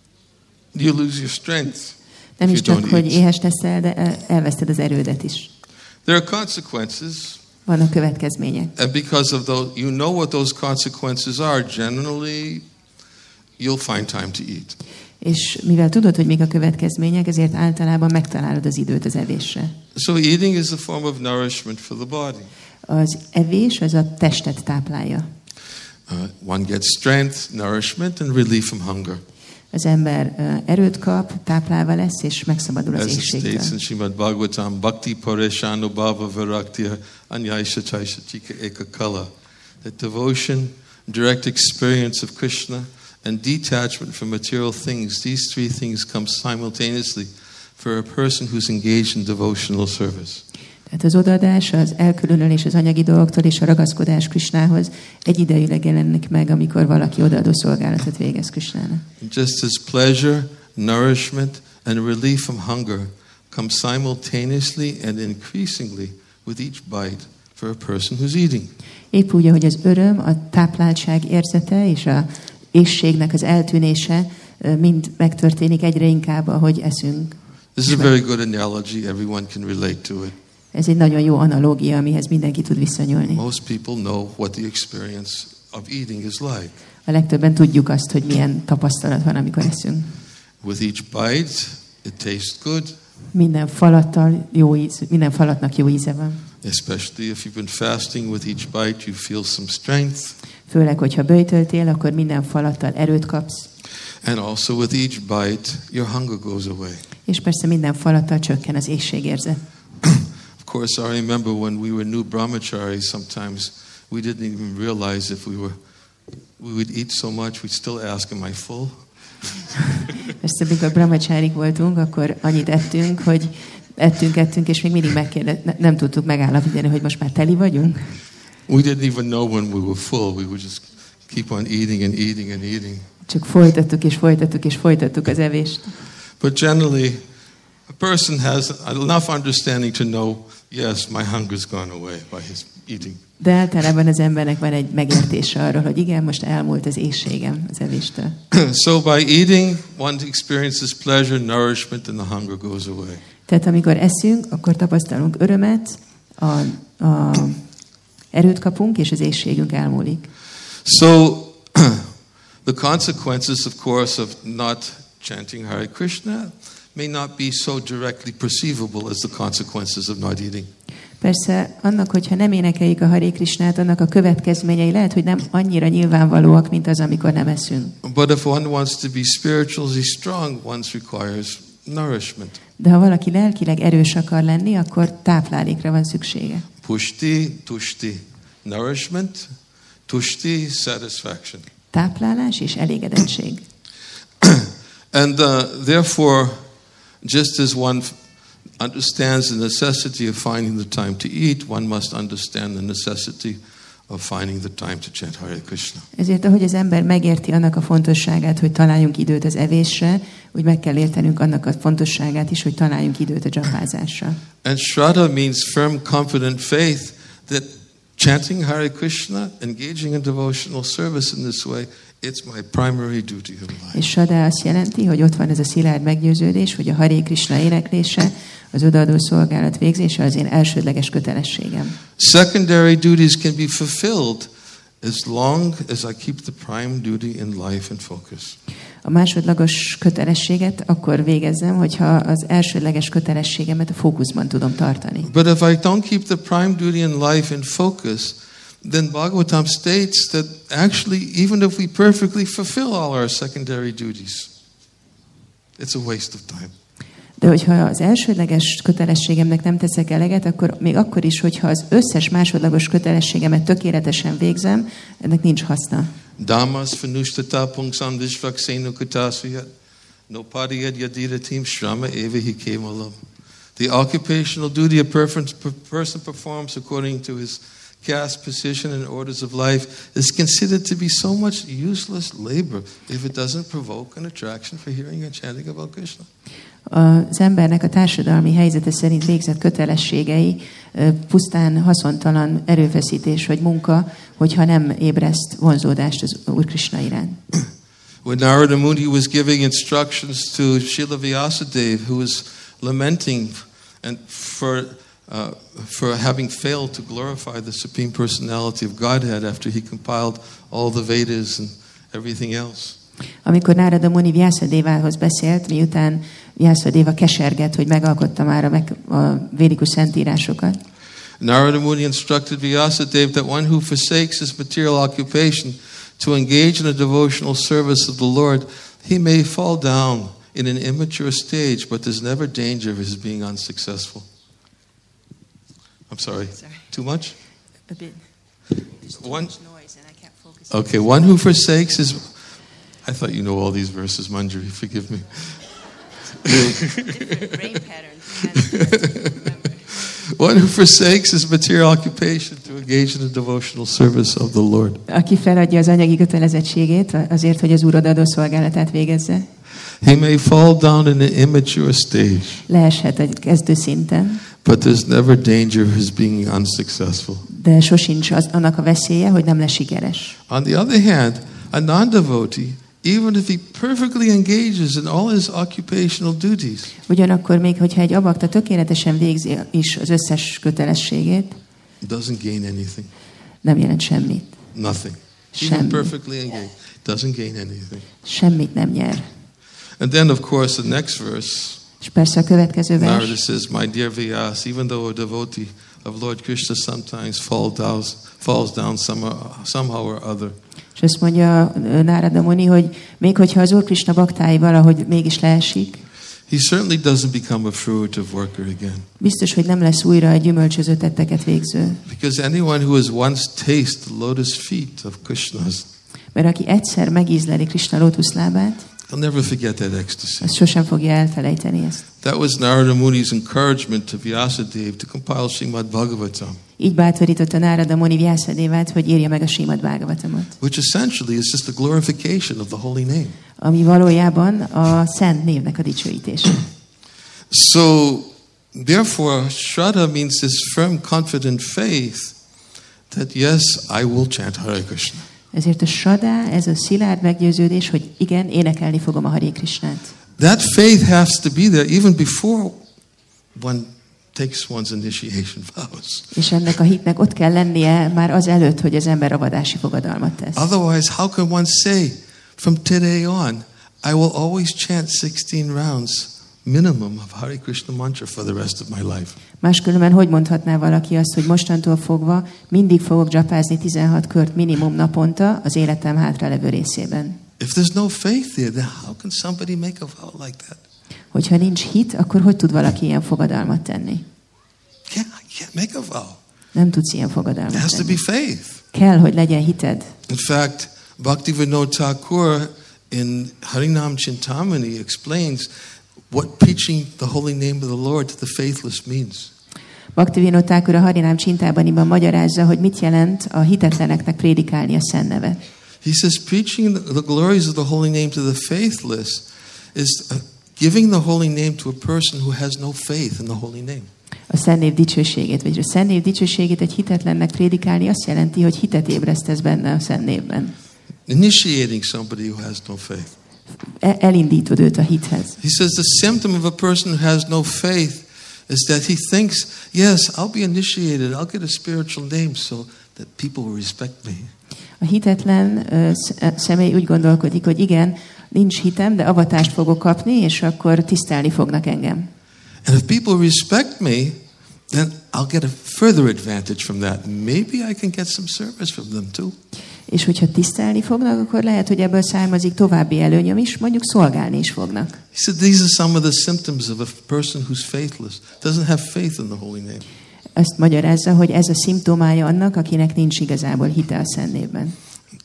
you lose your strength. Nem is csak, hogy éhes leszel, de elveszted az erődet is. There are consequences. Vannak következmények. And because of those, you know what those consequences are. Generally, you'll find time to eat. És mivel tudod, hogy mik a következmények, ezért általában megtalálod az időt az evésre. So eating is a form of nourishment for the body. Az evés az a testet táplálja. Uh, one gets strength, nourishment, and relief from hunger. Az ember uh, erőt kap, táplálva lesz, és megszabadul az As it éhségtől. states in Srimad Bhagavatam, Bhakti Pareshano Bhava Viraktiya Anyaisha Chaisha Chika Eka Kala. That devotion, direct experience of Krishna, and detachment from material things, these three things come simultaneously for a person who's engaged in devotional service. Tehát az odaadás, az elkülönülés az anyagi dolgoktól és a ragaszkodás Krisnához egyidejűleg jelenik meg, amikor valaki odaadó szolgálatot végez Krisnának. Just as pleasure, nourishment, and relief from hunger come simultaneously and increasingly with each bite for a person who's eating. Épp úgy, ahogy az öröm, a tápláltság érzete és a éhségnek az eltűnése mind megtörténik egyre inkább, ahogy eszünk. This is a very good analogy. Everyone can relate to it. Ez egy nagyon jó analógia, amihez mindenki tud viszonyulni. Most people know what the experience of eating is like. A legtöbben tudjuk azt, hogy milyen tapasztalat van, amikor eszünk. With each bite, it tastes good. Minden falattal jó íz, minden falatnak jó íze van. Especially if you've been fasting, with each bite you feel some strength. Főleg, hogyha böjtöltél, akkor minden falattal erőt kapsz. And also with each bite, your hunger goes away. És persze minden falattal csökken az éhségérzet. Of course, I remember when we were new brahmacharis, sometimes we didn't even realize if we were, we would eat so much, we'd still ask, am I full? Persze, amikor brahmacsárik voltunk, akkor annyit ettünk, hogy ettünk, ettünk, és még mindig megkérdez, ne, nem tudtuk megállapítani, hogy most már teli vagyunk. We didn't even know when we were full. We would just keep on eating and eating and eating. Csak folytattuk és folytattuk és folytattuk az evést. But generally, a person has enough understanding to know, yes, my hunger's gone away by his eating. De általában az embernek van egy megértése arról, hogy igen, most elmúlt az éhségem az evéstől. So by eating, one experiences pleasure, nourishment, and the hunger goes away. Tehát amikor eszünk, akkor tapasztalunk örömet, a, a erőt kapunk, és az éhségünk elmúlik. So the consequences, of course, of not chanting Hare Krishna may not be so directly perceivable as the consequences of not eating. Persze, annak, hogyha nem énekeljük a Hare Krishnát, annak a következményei lehet, hogy nem annyira nyilvánvalóak, mint az, amikor nem eszünk. But if one wants to be spiritually strong, one requires nourishment. De ha valaki lelkileg erős akar lenni, akkor táplálékra van szüksége. Pushti, tushti, nourishment, tushti, satisfaction. Táplálás és elégedettség. And uh, therefore, Just as one understands the necessity of finding the time to eat, one must understand the necessity of finding the time to chant Hare Krishna. Ezért, ahogy az ember megérti annak a fontosságát, hogy találjunk időt az evésre, úgy meg kell értenünk annak a fontosságát is, hogy találjunk időt a japázásra. And Shraddha means firm, confident faith that chanting Hare Krishna, engaging in devotional service in this way, it's my primary duty of life. És Shraddha azt jelenti, hogy ott van ez a szilárd meggyőződés, hogy a Hare Krishna éneklése, az odaadó szolgálat végzése az én elsődleges kötelességem. Secondary duties can be fulfilled as long as I keep the prime duty in life and focus. A másodlagos kötelességet akkor végezzem, hogyha az elsődleges kötelességemet a fókuszban tudom tartani. But if I don't keep the prime duty in life in focus, then Bhagavatam states that actually even if we perfectly fulfill all our secondary duties, it's a waste of time. De hogyha az elsődleges kötelességemnek nem teszek eleget, akkor még akkor is, hogyha az összes másodlagos kötelességemet tökéletesen végzem, ennek nincs haszna. Dhammas fanushtata pungsam dishvaksenu kutasuyat nopadiyad yadira tim shrama eva hi kemalam. The occupational duty a person performs according to his caste, position, and orders of life is considered to be so much useless labor if it doesn't provoke an attraction for hearing and chanting about Krishna. Az embernek a társadalmi helyzete szerint végzett kötelességei pusztán haszontalan erőfeszítés vagy munka, hogyha nem ébreszt vonzódást az Úr Krishna iránt. When Narada Muni was giving instructions to Srila Vyasadeva, who was lamenting and for uh, for having failed to glorify the Supreme Personality of Godhead after he compiled all the Vedas and everything else. Amikor Nárada Muni Vyászadévához beszélt, miután Vyászadéva kesergett, hogy megalkotta már a, meg, a védikus szentírásokat. Narada Muni instructed Vyasadeva that one who forsakes his material occupation to engage in a devotional service of the Lord, he may fall down in an immature stage, but there's never danger of his being unsuccessful. I'm sorry. sorry. Too much? A bit. One, okay, one who forsakes his... I thought you know all these verses, Manjari, forgive me. Brain patterns. One who forsakes his material occupation to engage in a devotional service of the Lord. Aki feladja az anyagi kötelezettségét azért, hogy az Úr odaadó szolgálatát végezze. He may fall down in an immature stage. Leeshet egy kezdő szinten. But there's never danger of his being unsuccessful. De sosincs az, annak a veszélye, hogy nem lesz sikeres. On the other hand, a non-devotee, even if he perfectly engages in all his occupational duties, ugyanakkor még, hogyha egy abakta tökéletesen végzi is az összes kötelességét, doesn't gain anything. Nem jelent semmit. Nothing. Semmi. Even perfectly engaged, doesn't gain anything. Semmit nem nyer. And then, of course, the next verse. És persze a következő vers. Narada says, "My dear Vyas, even though a devotee of Lord Krishna sometimes fall down, falls down somehow, somehow or other." És azt mondja Nárada Muni, hogy még hogyha az Úr Krishna baktái valahogy mégis leesik, he certainly doesn't become a fruitive worker again. Biztos, hogy nem lesz újra egy gyümölcsöző tetteket végző. Because anyone who has once tasted the lotus feet of Krishna's, mert aki egyszer megízleli Krishna lótuszlábát, he'll never forget that ecstasy. az sosem fogja elfelejteni ezt. That was Narada Muni's encouragement to Vyasadeva to compile Srimad Bhagavatam. Így bátorította Nárada Muni Vyászadévát, hogy írja meg a Srimad Bhagavatamot. Which essentially is just a glorification of the holy name. Ami valójában a szent névnek a dicsőítése. So, therefore, Shraddha means this firm, confident faith that yes, I will chant Hare Krishna. Ezért a Shraddha, ez a szilárd meggyőződés, hogy igen, énekelni fogom a Hare Krishnát. That faith has to be there even before one takes one's initiation vows. És ennek a hitnek ott kell lennie már az előtt, hogy az ember avadási fogadalmat tesz. Otherwise, how can one say from today on, I will always chant sixteen rounds minimum of Hare Krishna mantra for the rest of my life? Máskülönben hogy mondhatná valaki azt, hogy mostantól fogva mindig fogok japázni tizenhat kört minimum naponta az életem hátralevő részében? If there's no faith there, then how can somebody make a vow like that? Hogyha nincs hit, akkor hogy tud valaki ilyen fogadalmat tenni? Can't, I can't make a vow. Nem tudsz ilyen fogadalmat There has to tenni. be faith. Kell, hogy legyen hited. In fact, Bhaktivinoda Thakur in Harinam Chintamani explains what preaching the holy name of the Lord to the faithless means. Bhaktivinoda Thakur a Harinám Csintábaniban magyarázza, hogy mit jelent a hitetleneknek prédikálni a Szent nevet. He says preaching the, the glories of the holy name to the faithless is uh, giving the holy name to a person who has no faith in the holy name. A Szent név dicsőségét, vagy a Szent név dicsőségét egy hitetlennek prédikálni azt jelenti, hogy hitet ébresztesz benne a Szent névben. Initiating somebody who has no faith. Elindítod őt a hithez. He says the symptom of a person who has no faith is that he thinks, yes, I'll be initiated, I'll get a spiritual name so that people will respect me. A hitetlen uh, személy úgy gondolkodik, hogy igen, nincs hitem, de avatást fogok kapni, és akkor tisztelni fognak engem. And if people respect me, then I'll get a further advantage from that. Maybe I can get some service from them too. És hogyha tisztelni fognak, akkor lehet, hogy ebből származik további előnyöm is, mondjuk szolgálni is fognak. He said these are some of the symptoms of a person who's faithless, doesn't have faith in the holy name. Ezt magyarázza, hogy ez a szimptomája annak, akinek nincs igazából hite a Szent névben.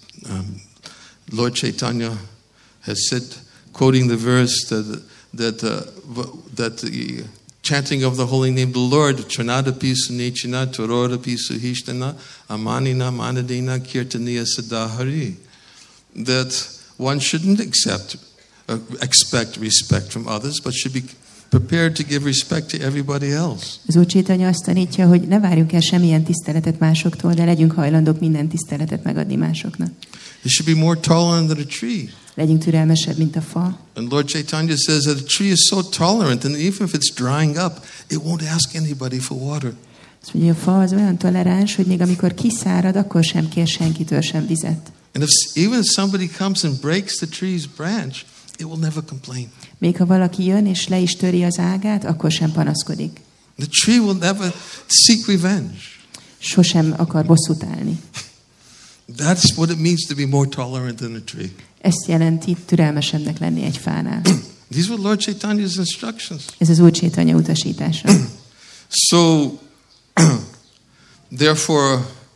Um, Lord Chaitanya has said, quoting the verse that that uh, that the chanting of the holy name of the Lord, Chanada Pisu Nichina, Torora Pisu Hishtana, Amanina Manadina Kirtaniya Sadahari, that one shouldn't accept, uh, expect respect from others, but should be prepared to give respect to everybody else. Az Úr Chaitanya azt tanítja, hogy ne várjunk el semmilyen tiszteletet másoktól, de legyünk hajlandók minden tiszteletet megadni másoknak. You should be more tolerant than a tree. Legyünk türelmesebb, mint a fa. And Lord Chaitanya says that a tree is so tolerant, and even if it's drying up, it won't ask anybody for water. Azt mondja, a fa az olyan toleráns, hogy még amikor kiszárad, akkor sem kér senkitől sem vizet. And if even if somebody comes and breaks the tree's branch, it will never complain. Még ha valaki jön és le is töri az ágát, akkor sem panaszkodik. The tree will never seek revenge. Sosem akar bosszút állni. That's what it means to be more tolerant than a tree. Ezt jelenti türelmesebbnek lenni egy fánál. These were Lord Chaitanya's instructions. Ez az Úr Chaitanya utasítása. So, therefore,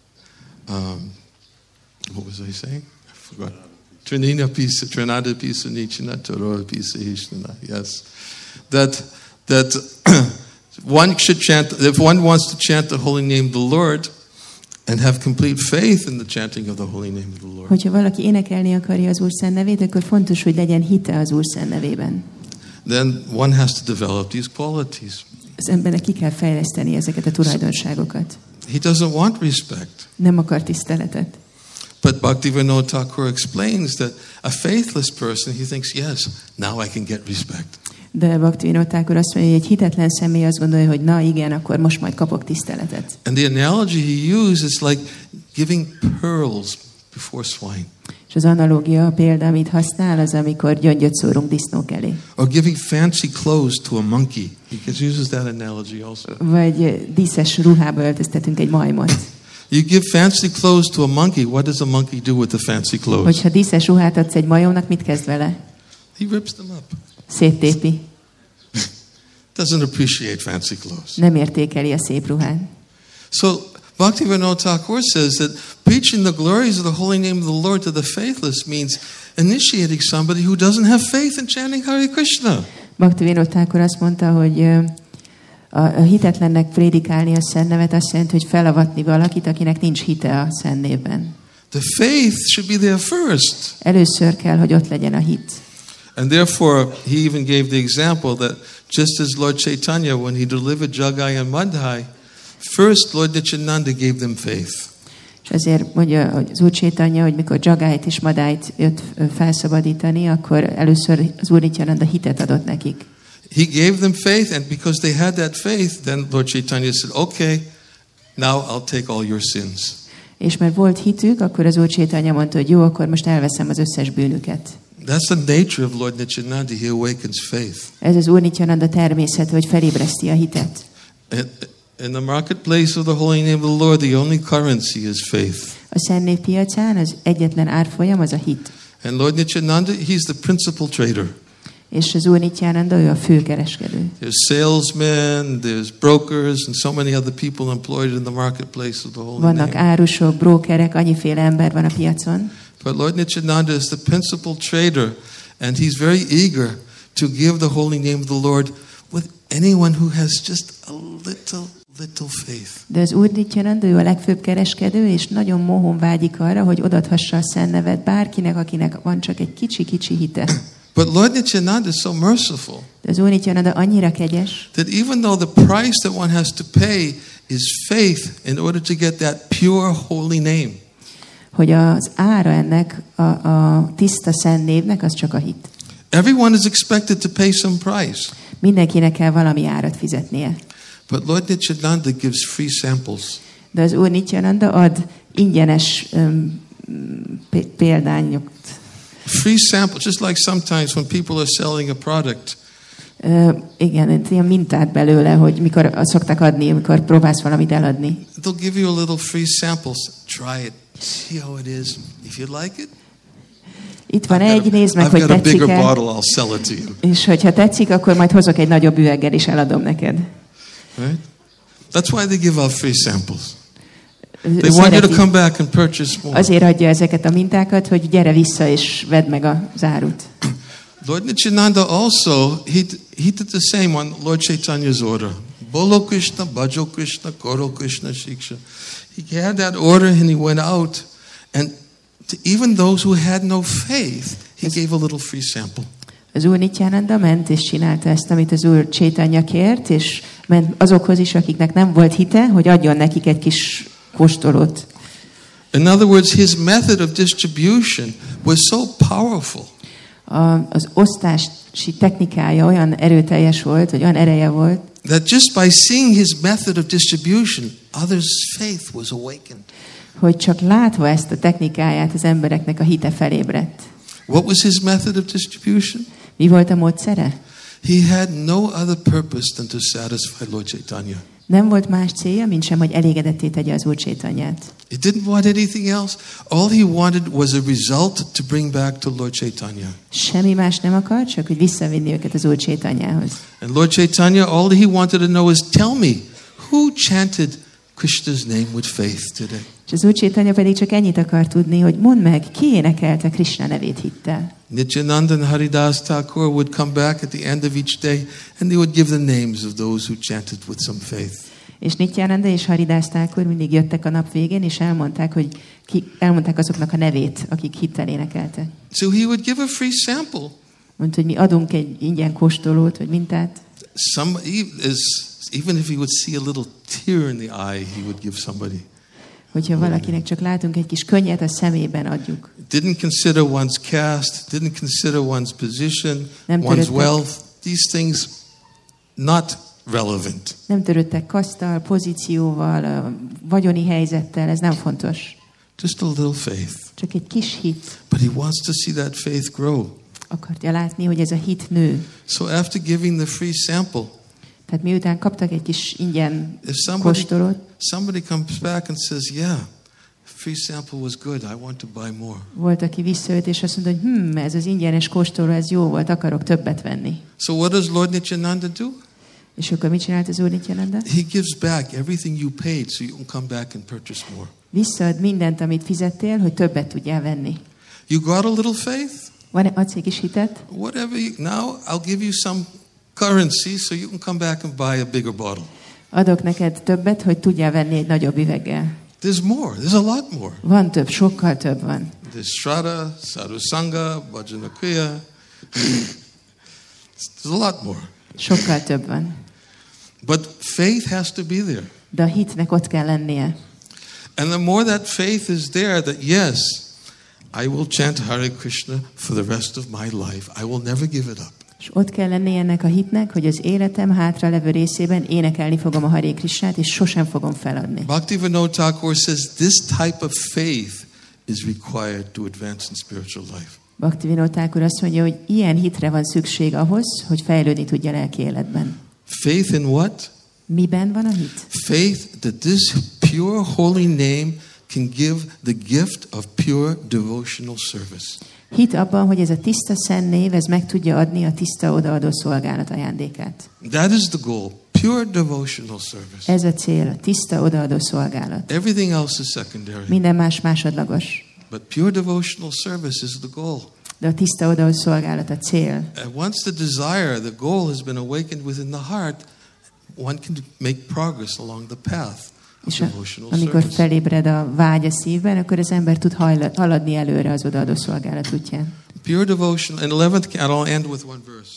um, what was I saying? I forgot. Trinina pisa, Trinada pisa, Nichina, Torora pisa, Hishnana. Yes, that that one should chant. If one wants to chant the holy name of the Lord, and have complete faith in the chanting of the holy name of the Lord. Hogyha valaki énekelni akarja az Úr szent nevét, akkor fontos, hogy legyen hite az Úr szent nevében. Then one has to develop these qualities. Az embernek ki kell fejleszteni ezeket a tulajdonságokat. He doesn't want respect. Nem akar tiszteletet. But Bhaktivinoda Thakur explains that a faithless person, he thinks, yes, now I can get respect. De Bhaktivinoda Thakur azt mondja, hogy egy hitetlen személy azt gondolja, hogy na igen, akkor most majd kapok tiszteletet. And the analogy he uses is like giving pearls before swine. És az analógia, a példa, amit használ, az amikor gyöngyöt szórunk disznók elé. Or giving fancy clothes to a monkey. He uses that analogy also. Vagy díszes ruhába öltöztetünk egy majmot. You give fancy clothes to a monkey, what does a monkey do with the fancy clothes? Hogyha díszes ruhát adsz egy majomnak, mit kezd vele? He rips them up. Széttépi. Doesn't appreciate fancy clothes. Nem értékeli a szép ruhát. So Bhaktivinoda Thakur says that preaching the glories of the holy name of the Lord to the faithless means initiating somebody who doesn't have faith in chanting Hare Krishna. Bhaktivinoda Thakur azt mondta, hogy a hitetlennek prédikálni a szent nevet azt jelenti, hogy felavatni valakit, akinek nincs hite a szent névben. The faith should be there first. Először kell, hogy ott legyen a hit. And therefore, he even gave the example that just as Lord Chaitanya, when he delivered Jagai and Madhai, first Lord Nityananda gave them faith. És azért mondja az Úr Chaitanya, hogy mikor Jagáit és Madáit jött felszabadítani, akkor először az Úr Nityananda hitet adott nekik. He gave them faith, and because they had that faith, then Lord Chaitanya said, okay, now I'll take all your sins. És mert volt hitük, akkor az Úr Chaitanya mondta, hogy jó, akkor most elveszem az összes bűnüket. That's the nature of Lord Nityananda. He awakens faith. Ez az Úr Nityananda természete, hogy felébreszti a hitet. In the marketplace of the holy name of the Lord, the only currency is faith. A Szent Név piacán az egyetlen árfolyam az a hit. And Lord Nityananda, he's the principal trader. És az Úr Nityananda, ő a fő kereskedő. There's salesmen, there's brokers, and so many other people employed in the marketplace of the holy Vannak name. árusok, brókerek, annyiféle ember van a piacon. But Lord Nityananda is the principal trader, and he's very eager to give the holy name of the Lord with anyone who has just a little, little faith. De az Úr Nityananda, ő a legfőbb kereskedő, és nagyon mohón vágyik arra, hogy odathassa a szent nevet bárkinek, akinek van csak egy kicsi-kicsi hite. But Lord Nityananda is so merciful De az Úr Nityananda annyira kegyes, that even though the price that one has to pay is faith in order to get that pure holy name, hogy az ára ennek a, a tiszta szent névnek az csak a hit. everyone is expected to pay some price. Mindenkinek kell valami árat fizetnie. But Lord Nityananda gives free samples. De az Úr Nityananda ad ingyenes um, p- példányokat. Free samples, just like sometimes when people are selling a product. Uh, igen, ilyen mintát belőle, hogy mikor szoktak adni, amikor próbálsz valamit eladni. They'll give you a little free samples. Try it. See how it is. If you like it, Itt van I've egy, got a- nézd meg, I've hogy got a tetszik bigger el, bottle, I'll sell it to you. és hogyha tetszik, akkor majd hozok egy nagyobb üveggel, és eladom neked. Right? That's why they give out free samples. Ő They want you to szereti. come back and purchase more. Azért adja ezeket a mintákat, hogy gyere vissza, és vedd meg az árut. Lord Nityananda also, he, he did the same on Lord Chaitanya's order. Bolo Krishna, Bhajo Krishna, Koro Krishna, Shiksha. He had that order and he went out. And to even those who had no faith, he gave a little free sample. Az Úr Nityananda ment és csinálta ezt, amit az Úr Chaitanya kért, és ment azokhoz is, akiknek nem volt hite, hogy adjon nekik egy kis kóstolót. In other words, his method of distribution was so powerful A, az osztási technikája olyan erőteljes volt, vagy olyan ereje volt, that just by seeing his method of distribution, others' faith was awakened. hogy csak látva ezt a technikáját az embereknek a hite felébredt. What was his method of distribution? Mi volt a módszere? He had no other purpose than to satisfy Lord Chaitanya. Nem volt más célja, mint sem, hogy elégedetté tegye az Úr Chaitanyát. He didn't want anything else. All he wanted was a result to bring back to Lord Chaitanya. Semmi más nem akar, csak hogy visszavinni őket az Úr Chaitanyához. And Lord Chaitanya, all he wanted to know is, tell me, who chanted Krishna's name with faith today? És az Úr Chaitanya pedig csak ennyit akar tudni, hogy mondd meg, ki énekelte Krishna nevét hittel. Nityananda and Haridas Thakur would come back at the end of each day and they would give the names of those who chanted with some faith. És Nityananda és Haridas Thakur mindig jöttek a nap végén, és elmondták, hogy ki, elmondták azoknak a nevét, akik hittel énekeltek. So he would give a free sample. Mondta, hogy mi adunk egy ingyen kóstolót, vagy mintát. Some, is, even if he would see a little tear in the eye, he would give somebody. Hogyha valakinek csak látunk egy kis könnyet a szemében, adjuk. Didn't consider one's caste, didn't consider one's position, Nem one's törődtek. wealth. These things not relevant. Nem törődtek kaszttal, pozícióval, a vagyoni helyzettel, ez nem fontos. Just a little faith. Csak egy kis hit. But he wants to see that faith grow. Akarja látni, hogy ez a hit nő. So after giving the free sample, Tehát miután kaptak egy kis ingyen if somebody, kóstolót, somebody comes back and says, yeah, free sample was good, I want to buy more. volt, aki visszajött, és azt mondta, hogy hm, ez az ingyenes kóstoló, ez jó volt, akarok többet venni. So what does Lord Nityananda do? És akkor mit csinált az Úr Nityananda? He gives back everything you paid so you can come back and purchase more. Visszaad mindent, amit fizettél, hogy többet tudjál venni. You got a little faith? Van adsz egy kis hitet? Whatever you, now I'll give you some currency so you can come back and buy a bigger bottle. Adok neked többet, hogy tudjál venni egy nagyobb üveggel. There's more. There's a lot more. Van több, sokkal több van. There's Shraddha, Sadhusanga, Bhajanakriya. There's a lot more. Sokkal több van. But faith has to be there. De a hitnek ott kell lennie. And the more that faith is there, that yes, I will chant Hare Krishna for the rest of my life. I will never give it up. És ott kell lennie ennek a hitnek, hogy az életem hátra levő részében énekelni fogom a Hare Krishnát, és sosem fogom feladni. Bhaktivinoda Thakur says this type of faith is required to advance in spiritual life. Bhaktivinoda Thakur azt mondja, hogy ilyen hitre van szükség ahhoz, hogy fejlődni tudja a lelki életben. Faith in what? Miben van a hit? Faith that this pure holy name can give the gift of pure devotional service. Hit abban, hogy ez a tiszta szent név, ez meg tudja adni a tiszta odaadó szolgálat ajándékát. That is the goal, pure devotional service. Ez a cél, a tiszta odaadó szolgálat. Everything else is secondary. Minden más másodlagos. But pure devotional service is the goal. De a tiszta odaadó szolgálat a cél. And once the desire, the goal has been awakened within the heart, one can make progress along the path of És a, devotional amikor service. felébred a vágy a szívben, akkor az ember tud hajla, haladni előre az odaadó szolgálat útján. Pure devotion. In eleventh canto, I'll end with one verse.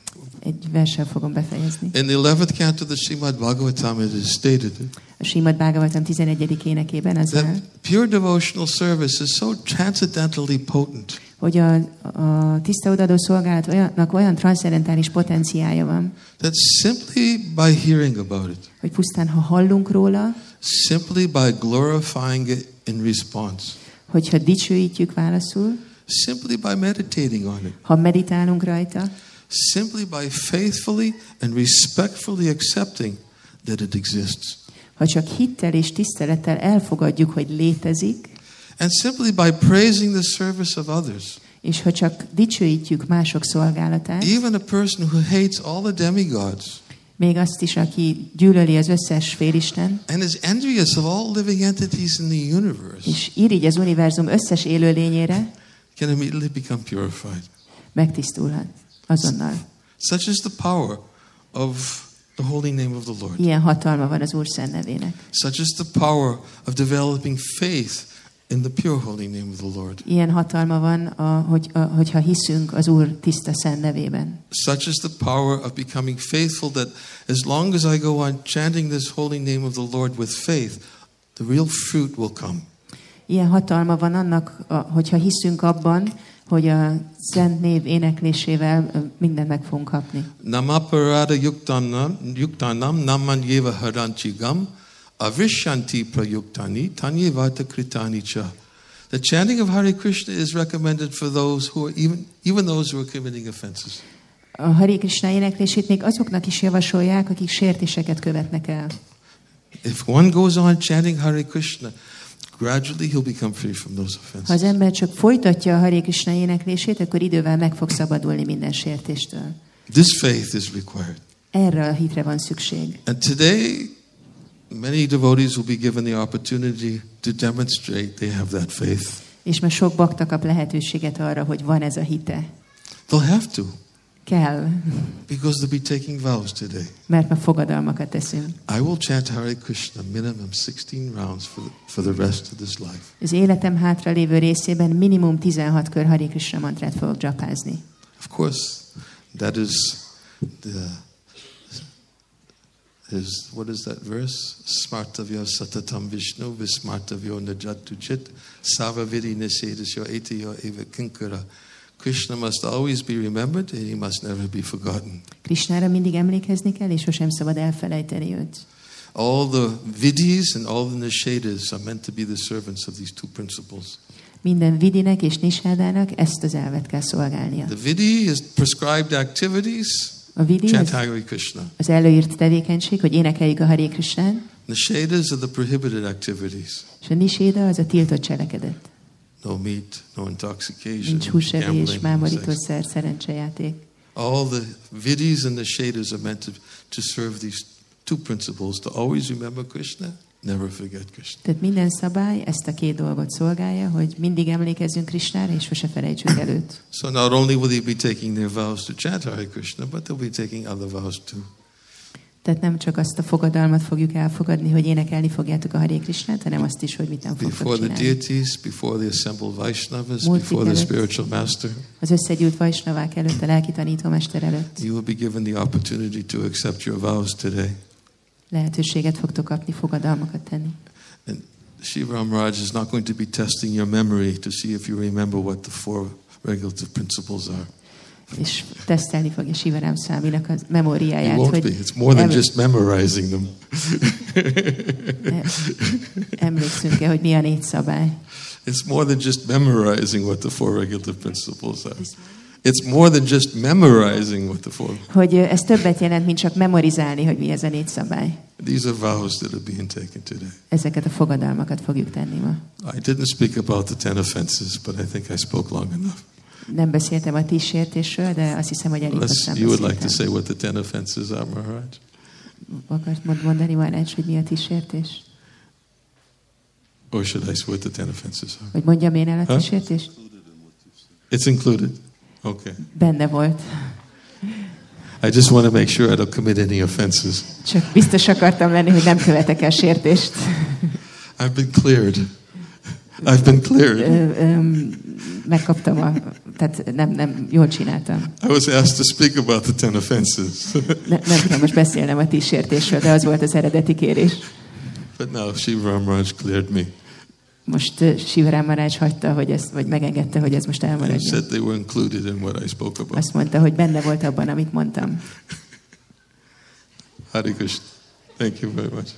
Egy verssel fogom befejezni. In the eleventh canto of the Srimad Bhagavatam, it is stated A Srimad Bhagavatam tizenegyedik énekében az áll, that pure devotional service is so transcendentally potent hogy a, a tiszta odaadó szolgálatnak olyan transzcendentális potenciája van, that simply by hearing about it, hogy pusztán ha hallunk róla, simply by glorifying it in response, hogyha dicsőítjük válaszul, simply by meditating on it, ha meditálunk rajta, simply by faithfully and respectfully accepting that it exists, ha csak hittel és tisztelettel elfogadjuk, hogy létezik, and simply by praising the service of others, és ha csak dicsőítjük mások szolgálatát, even a person who hates all the demigods még azt is, aki gyűlöli az összes félisten, and is envious of all living entities in the universe, és irigy az univerzum összes élőlényére, can immediately become purified. megtisztulhat azonnal. Such is the power of the holy name of the Lord. Ilyen hatalma van az Úr szent nevének. Such is the power of developing faith in the pure holy name of the Lord. Ilyen hatalma van, a, hogy, a, hogyha hiszünk az Úr tiszta szent nevében. Such is the power of becoming faithful that as long as I go on chanting this holy name of the Lord with faith, the real fruit will come. Ilyen hatalma van annak, a, hogyha hiszünk abban, hogy a szent név éneklésével ö, mindent meg fogunk kapni. Namaparada yuktanam yuktanam namanyeva haranchigam avishanti prayuktani tanyevata kritani cha. The chanting of Hare Krishna is recommended for those who are even even those who are committing offenses. A Hare Krishna éneklését még azoknak is javasolják, akik sértéseket követnek el. If one goes on chanting Hare Krishna, gradually he'll become free from those Ha az offenses. ember csak folytatja a Hare Krishna éneklését, akkor idővel meg fog szabadulni minden sértéstől. This faith is required. Erre a hitre van szükség. And today, many devotees will be given the opportunity to demonstrate they have that faith. És ma sok bakta kap lehetőséget arra, hogy van ez a hite. They'll have to, Kell, because they'll be taking vows today. mert ma fogadalmakat teszünk. I will chant Hare Krishna minimum sixteen rounds for the, for the rest of this life. Az életem hátra lévő részében minimum tizenhat kör Hare Krishna mantrát fogok dzsapázni. Of course, that is the is what is that verse? Smartavya satatam Vishnu vismartavyo najatu chit savaviri nisedasyo etiyo eva kinkara. Krishna must always be remembered and he must never be forgotten. Krishnára mindig emlékezni kell, és sosem szabad elfelejteni őt. All the vidis and all the nishedas are meant to be the servants of these two principles. Minden vidinek és nisádának ezt az elvet kell szolgálnia. The vidi is prescribed activities. A vidi Chant az, Hare Krishna. az előírt tevékenység, hogy énekeljük a Hare Krishnát, Nishedas are the prohibited activities. és a niséda az a tiltott cselekedet. No meat, no intoxication, Nincs húsevés, gambling, no sex. mámorítószer, szerencsejáték. All the vidis and the shadas are meant to, to serve these two principles, to always remember Krishna, never forget Krishna. Tehát minden szabály ezt a két dolgot szolgálja, hogy mindig emlékezzünk Krishnára, és sose felejtsük el őt. So not only will they be taking their vows to chant Hare Krishna, but they'll be taking other vows too. Tehát nem csak azt a fogadalmat fogjuk elfogadni, hogy énekelni fogjátok a Hare Krishnát, hanem azt is, hogy mit nem fogtok Before the csinálni. deities, before the assembled Vaishnavas, Múlt before the előtt. spiritual master, Az összegyűlt vajsnavák előtt, a lelki tanítómester előtt you will be given the opportunity to accept your vows today. lehetőséget fogtok kapni, fogadalmakat tenni. And Shiva Raj is not going to be testing your memory to see if you remember what the four regulative principles are. És tesztelni fogja Sivarám Száminak a It memóriáját, won't be. hogy It's more than em- just memorizing them. emlékszünk-e, hogy mi a négy szabály. It's more than just memorizing what the four regulative principles are. It's more than just memorizing what the four. Hogy ez többet jelent, mint csak memorizálni, hogy mi ez a négy szabály. These are vows that are being taken today. Ezeket a fogadalmakat fogjuk tenni ma. I didn't speak about the ten offenses, but I think I spoke long enough. Nem beszéltem a tíz sértésről, de azt hiszem, hogy elég Unless hosszan you would like to beszéltem. say what the ten offenses are, Maharaj. Akart mond- mondani, Maharaj, hogy mi a tíz sértés? Or should I say what the ten offenses are? Hogy mondjam én el a tíz Ha? sértést? It's included. Okay. Benne volt. I just want to make sure I don't commit any offenses. Csak biztos akartam lenni, hogy nem követek el sértést. I've been cleared. I've been cleared. Ö, ö, megkaptam a... Tehát nem, nem, jól csináltam. I was asked to speak about the ten offenses. Ne, nem kell most beszélnem a tíz sértésről, de az volt az eredeti kérés. But now Shiva Maharaj cleared me. Most uh, Shiva Maharaj hagyta, hogy ez, vagy megengedte, hogy ez most He elmaradjon. said they were included in what I spoke about. Azt mondta, hogy benne volt abban, amit mondtam. Hare Krishna. Thank you very much.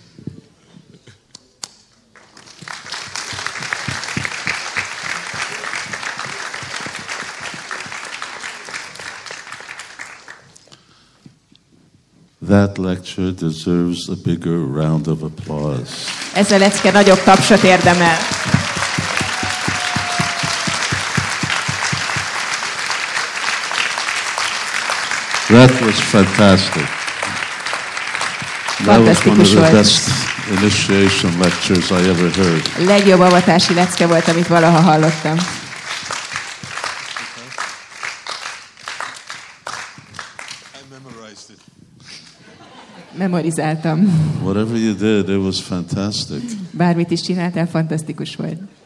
That lecture deserves a bigger round of applause. Ez a lecke nagyobb tapsot érdemel. That was fantastic. That was one of the best initiation lectures I ever heard. A legjobb avatási lecke volt, amit valaha hallottam. Memorizáltam. Whatever you did, it was fantastic. Bármit is csináltál, fantasztikus volt.